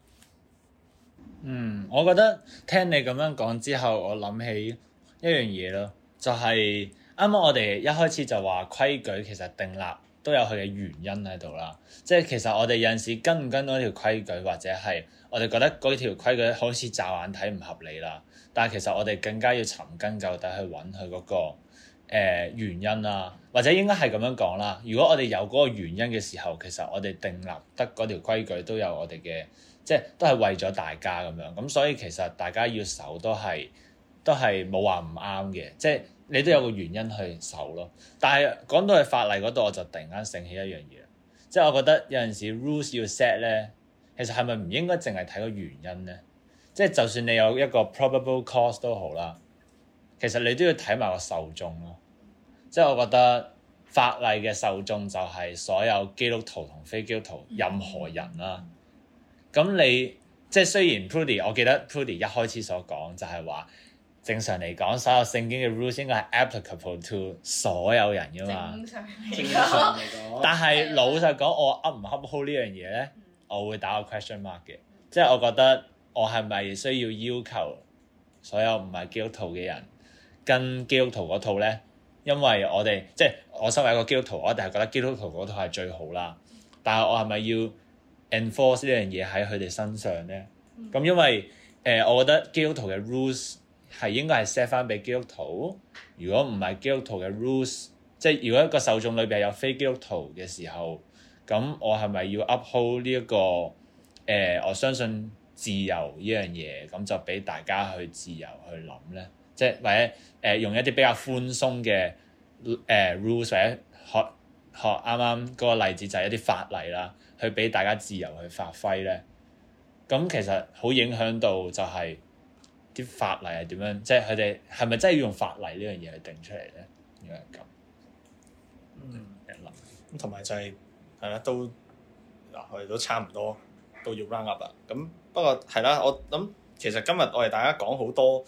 我覺得聽你咁樣講之後，我諗起一樣嘢咯，就係啱啱我哋一開始就話規矩其實訂立都有佢嘅原因喺度啦。即係其實我哋有陣時跟唔跟到條規矩，或者係我哋覺得嗰條規矩好似驟眼睇唔合理啦，但係其實我哋更加要尋根究底去揾佢嗰個原因啦，或者應該係咁樣講啦。如果我哋有嗰個原因嘅時候，其實我哋訂立得嗰條規矩都有我哋嘅，即係都係為咗大家咁樣。咁所以其實大家要守都係冇話唔啱嘅，即係你都有個原因去守咯。但係講到去法例嗰度，我就突然間醒起一樣嘢，即係我覺得有陣時 rules 要 set 咧，其實係咪唔應該淨係睇個原因咧？即係就算你有一個 probable cause 都好啦，其實你都要睇埋個受眾咯。即係我覺得法例嘅受眾就係所有基督徒同非基督徒任何人啦。咁你即係雖然 Prudy， 我記得 Prudy 一開始所講就係話，正常嚟講，所有聖經嘅 rules 應該係 applicable to 所有人噶嘛。正常嚟講。但係老實講，我噏唔噏好呢樣嘢咧，我會打個 question mark 嘅。即係我覺得我係咪需要要求所有唔係基督徒嘅人跟基督徒嗰套咧？因為我哋即係我身為一個基督徒，我一定係覺得基督徒嗰套係最好啦。但係我係咪要 enforce 呢樣嘢喺佢哋身上咧？咁因為我覺得基督徒嘅 rules 係應該係 set 翻俾基督徒。如果唔係基督徒嘅 rules， 即係如果一個受眾裏邊有非基督徒嘅時候，咁我係咪要 uphold 呢一個我相信自由呢樣嘢，咁就俾大家去自由去諗咧？即係或者用一啲比較寬鬆嘅rules，或者學啱啱嗰個例子就係一啲法例啦，去俾大家自由去發揮咧。咁其實好影響到就係啲法例係點樣，即係佢哋係咪真係要用法例呢樣嘢去定出嚟咧？應該係咁。 咁同埋就係啦，都嗱我哋都差唔多都要 round up 啦。咁不過係啦，我諗其實今日我哋大家講好多。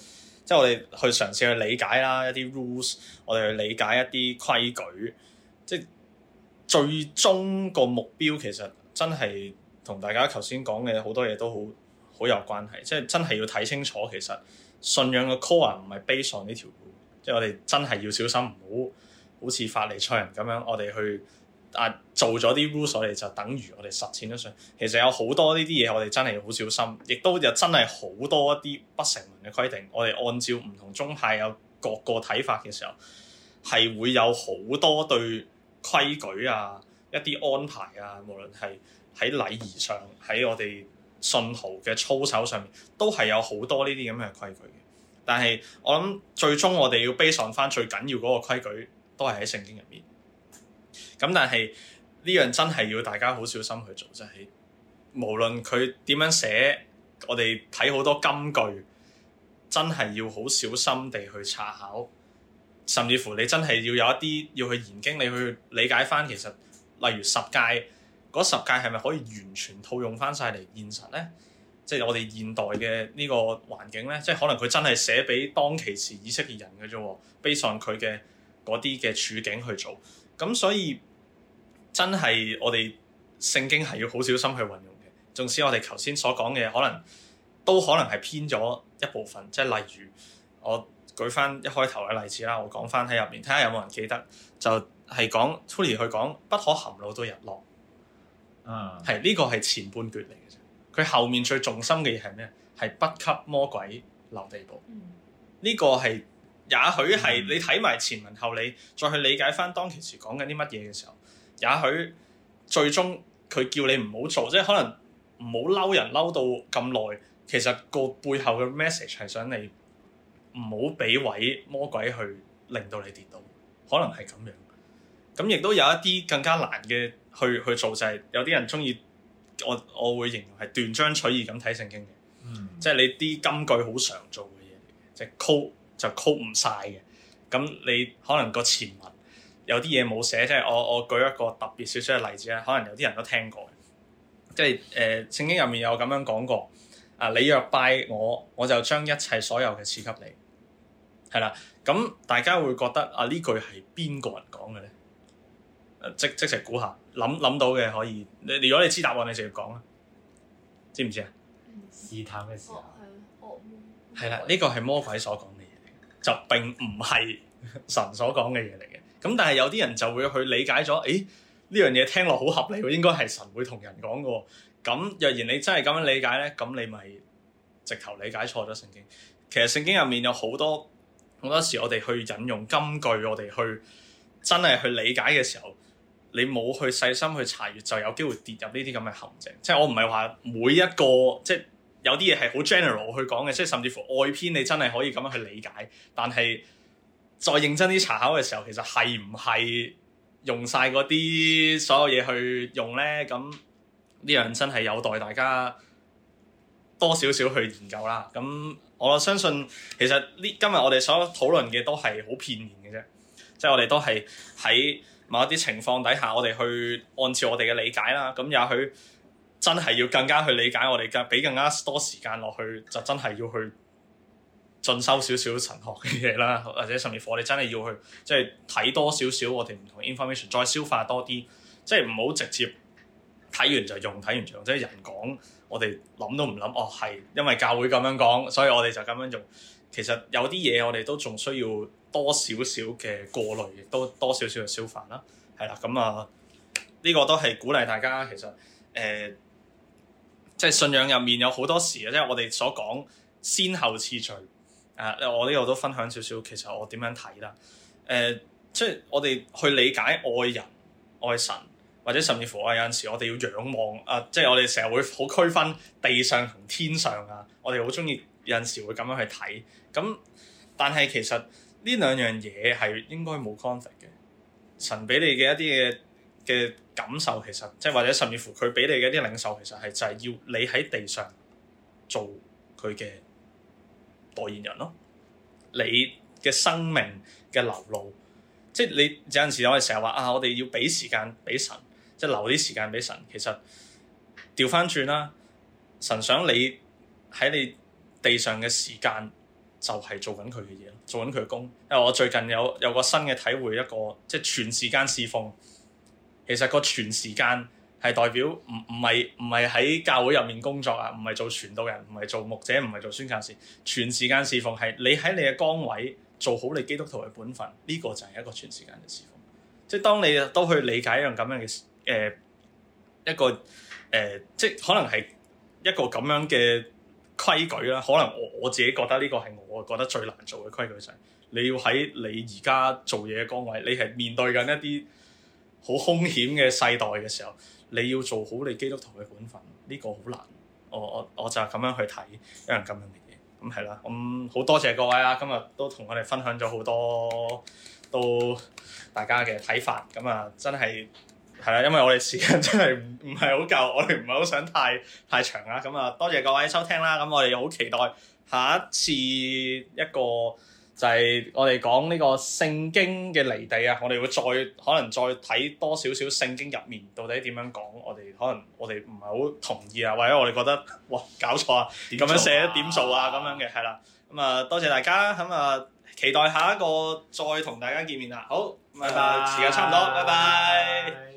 即係我哋去嘗試去理解啦一啲 rules， 我哋去理解一啲規矩，即係最終個目標其實真係同大家頭先講嘅好多嘢都好有關係，即係真係要睇清楚其實信仰嘅 core 唔係 based on 呢條路，即係我哋真係要小心，唔好好似法利賽人咁樣，我哋去做咗啲 rules， 我哋就等於我哋實踐咗上。其實有好多呢啲嘢，我哋真係要好小心，亦都有真係好多一啲不成文嘅規定。我哋按照唔同宗派有各個睇法嘅時候，係會有好多對規矩啊、一啲安排啊，無論係喺禮儀上、喺我哋信徒嘅操守上面，都係有好多呢啲咁嘅規矩嘅。但係我諗最終我哋要 base on 翻最緊要嗰個規矩，都係喺聖經入面。咁但係呢樣真係要大家好小心去做，就係無論佢點樣寫，我哋睇好多金句，真係要好小心地去查考，甚至乎你真係要有一啲要去研經，你去理解翻其實，例如十誡嗰十誡係咪可以完全套用翻晒嚟現實咧？即係我哋現代嘅呢個環境咧，即係可能佢真係寫俾當其時以色列人嘅啫喎，base on佢嘅嗰啲嘅處境去做，咁所以真係我哋聖經係要好小心去運用嘅。縱使我哋頭先所講嘅可能都可能係偏咗一部分，即係例如我舉翻一開頭嘅例子啦，我講翻喺入面，睇下有冇人記得，就係講 Tury 去講不可含怒到日落，係呢個係前半段嚟嘅啫。佢後面最重心嘅嘢係咩？係不給魔鬼留地步。呢個係也許係你睇埋前文後理，再去理解翻當其時講緊啲乜嘢嘅時候，也許最終佢叫你唔好做，即係可能唔好嬲人嬲到咁耐。其實個背後嘅 message 係想你唔好俾位魔鬼去令到你跌倒，可能係咁樣。咁亦都有一啲更加難嘅去做，就係有啲人中意。我會形容係斷章取義咁睇聖經嘅，即係你啲金句好常做嘅嘢嚟嘅，即係 quote 就 quote 唔晒嘅。咁你可能個前文有啲嘢冇寫，即係我舉一個特別少少嘅例子啦，可能有啲人都聽過，即係聖經入面有咁樣講過，你若拜我，我就將一切所有嘅賜給你，係啦。咁大家會覺得呢句係邊個人講嘅咧？即時估下，諗到嘅可以。如果你知答案，你直接講啦。知唔知啊？ 試探嘅時候。 係啦，呢個係魔鬼所講嘅嘢嚟嘅，就並唔係神所講嘅嘢嚟嘅。咁但係有啲人就會去理解咗，呢樣嘢聽落好合理喎，應該係神會同人講嘅喎。咁若然你真係咁樣理解咧，咁你咪直頭理解錯咗聖經。其實聖經入面有好多時，我哋去引用金句，我哋去真係去理解嘅時候，你冇去細心去查閱，就有機會跌入呢啲咁嘅陷阱。即係我唔係話每一個，即係有啲嘢係好 general 去講嘅，即係甚至乎外篇你真係可以咁樣去理解。但係再認真啲查考嘅時候，其實係唔係用晒嗰啲所有嘢去用咧？咁呢樣真係有待大家多少少去研究啦。咁我相信其實今日我哋所討論嘅都係好片面嘅啫，即係我哋都係喺某一啲情況底下，我哋去按照我哋嘅理解啦。咁也許真係要更加去理解，我哋俾更加多時間落去，就真係要去進修少少神學嘅嘢啦，或者甚至乎我哋真係要去即係睇多少少我哋唔同 information， 再消化多啲，即係唔好直接睇完就用，睇完就用，即係人講我哋諗都唔諗，係因為教會咁樣講，所以我哋就咁樣用。其實有啲嘢我哋都仲需要多少少嘅過濾，亦都多少少嘅消化啦。係啦，咁呢個都係鼓勵大家。其實即係信仰入面有好多時即係我哋所講先後次序。我呢度都分享少少，其實我點樣睇啦？即係我哋去理解愛人、愛神，或者甚至乎有陣時我哋要仰望即係我哋成日會好區分地上同天上啊。我哋好中意有陣時會咁樣去睇。咁但係其實呢兩樣嘢係應該冇 conflict 嘅。神俾你嘅一啲嘅感受，其實即係或者甚至乎佢俾你嘅一啲領受，其實係就係要你喺地上做佢嘅代言人咯。你嘅生命嘅流露，即係你有陣時我哋成日話我哋要俾時間俾神，即係留啲時間俾神。其實調翻轉啦，神想你喺你地上嘅時間就係做緊佢嘅嘢咯，做緊佢嘅工。因為我最近有個新嘅體會，一個即係全時間侍奉。其實個全時間係代表唔係喺教會入面工作啊，唔係做傳道人，唔係做牧者，唔係做宣教士。全時間侍奉係你喺你嘅崗位做好你基督徒嘅本分，呢個就係一個全時間嘅侍奉。即係當你都去理解一樣咁樣嘅一個即係可能係一個咁樣嘅規矩啦。可能我自己覺得呢個係我覺得最難做嘅規矩，就係你要喺你而家做嘢嘅崗位，你係面對緊一啲好兇險嘅世代嘅時候，你要做好你基督徒嘅本分，呢個好難。我就係咁樣去睇一樣咁樣嘅嘢。咁係啦，咁好多謝各位啊！今日都同我哋分享咗好多都大家嘅睇法。咁啊，真係係啦，因為我哋時間真係唔係好夠，我哋唔係好想太長啦。咁啊，多謝各位收聽啦。咁我哋好期待下一次一個就係我哋講呢個聖經嘅離地啊！我哋會可能再睇多少少聖經入面到底點樣講，可能我哋唔係好同意啊，或者我哋覺得哇搞錯啊，咁樣寫點數啊咁樣嘅係啦。咁啊多謝大家，咁啊期待下一個再同大家見面啦。好，拜拜，時間差唔多，拜拜。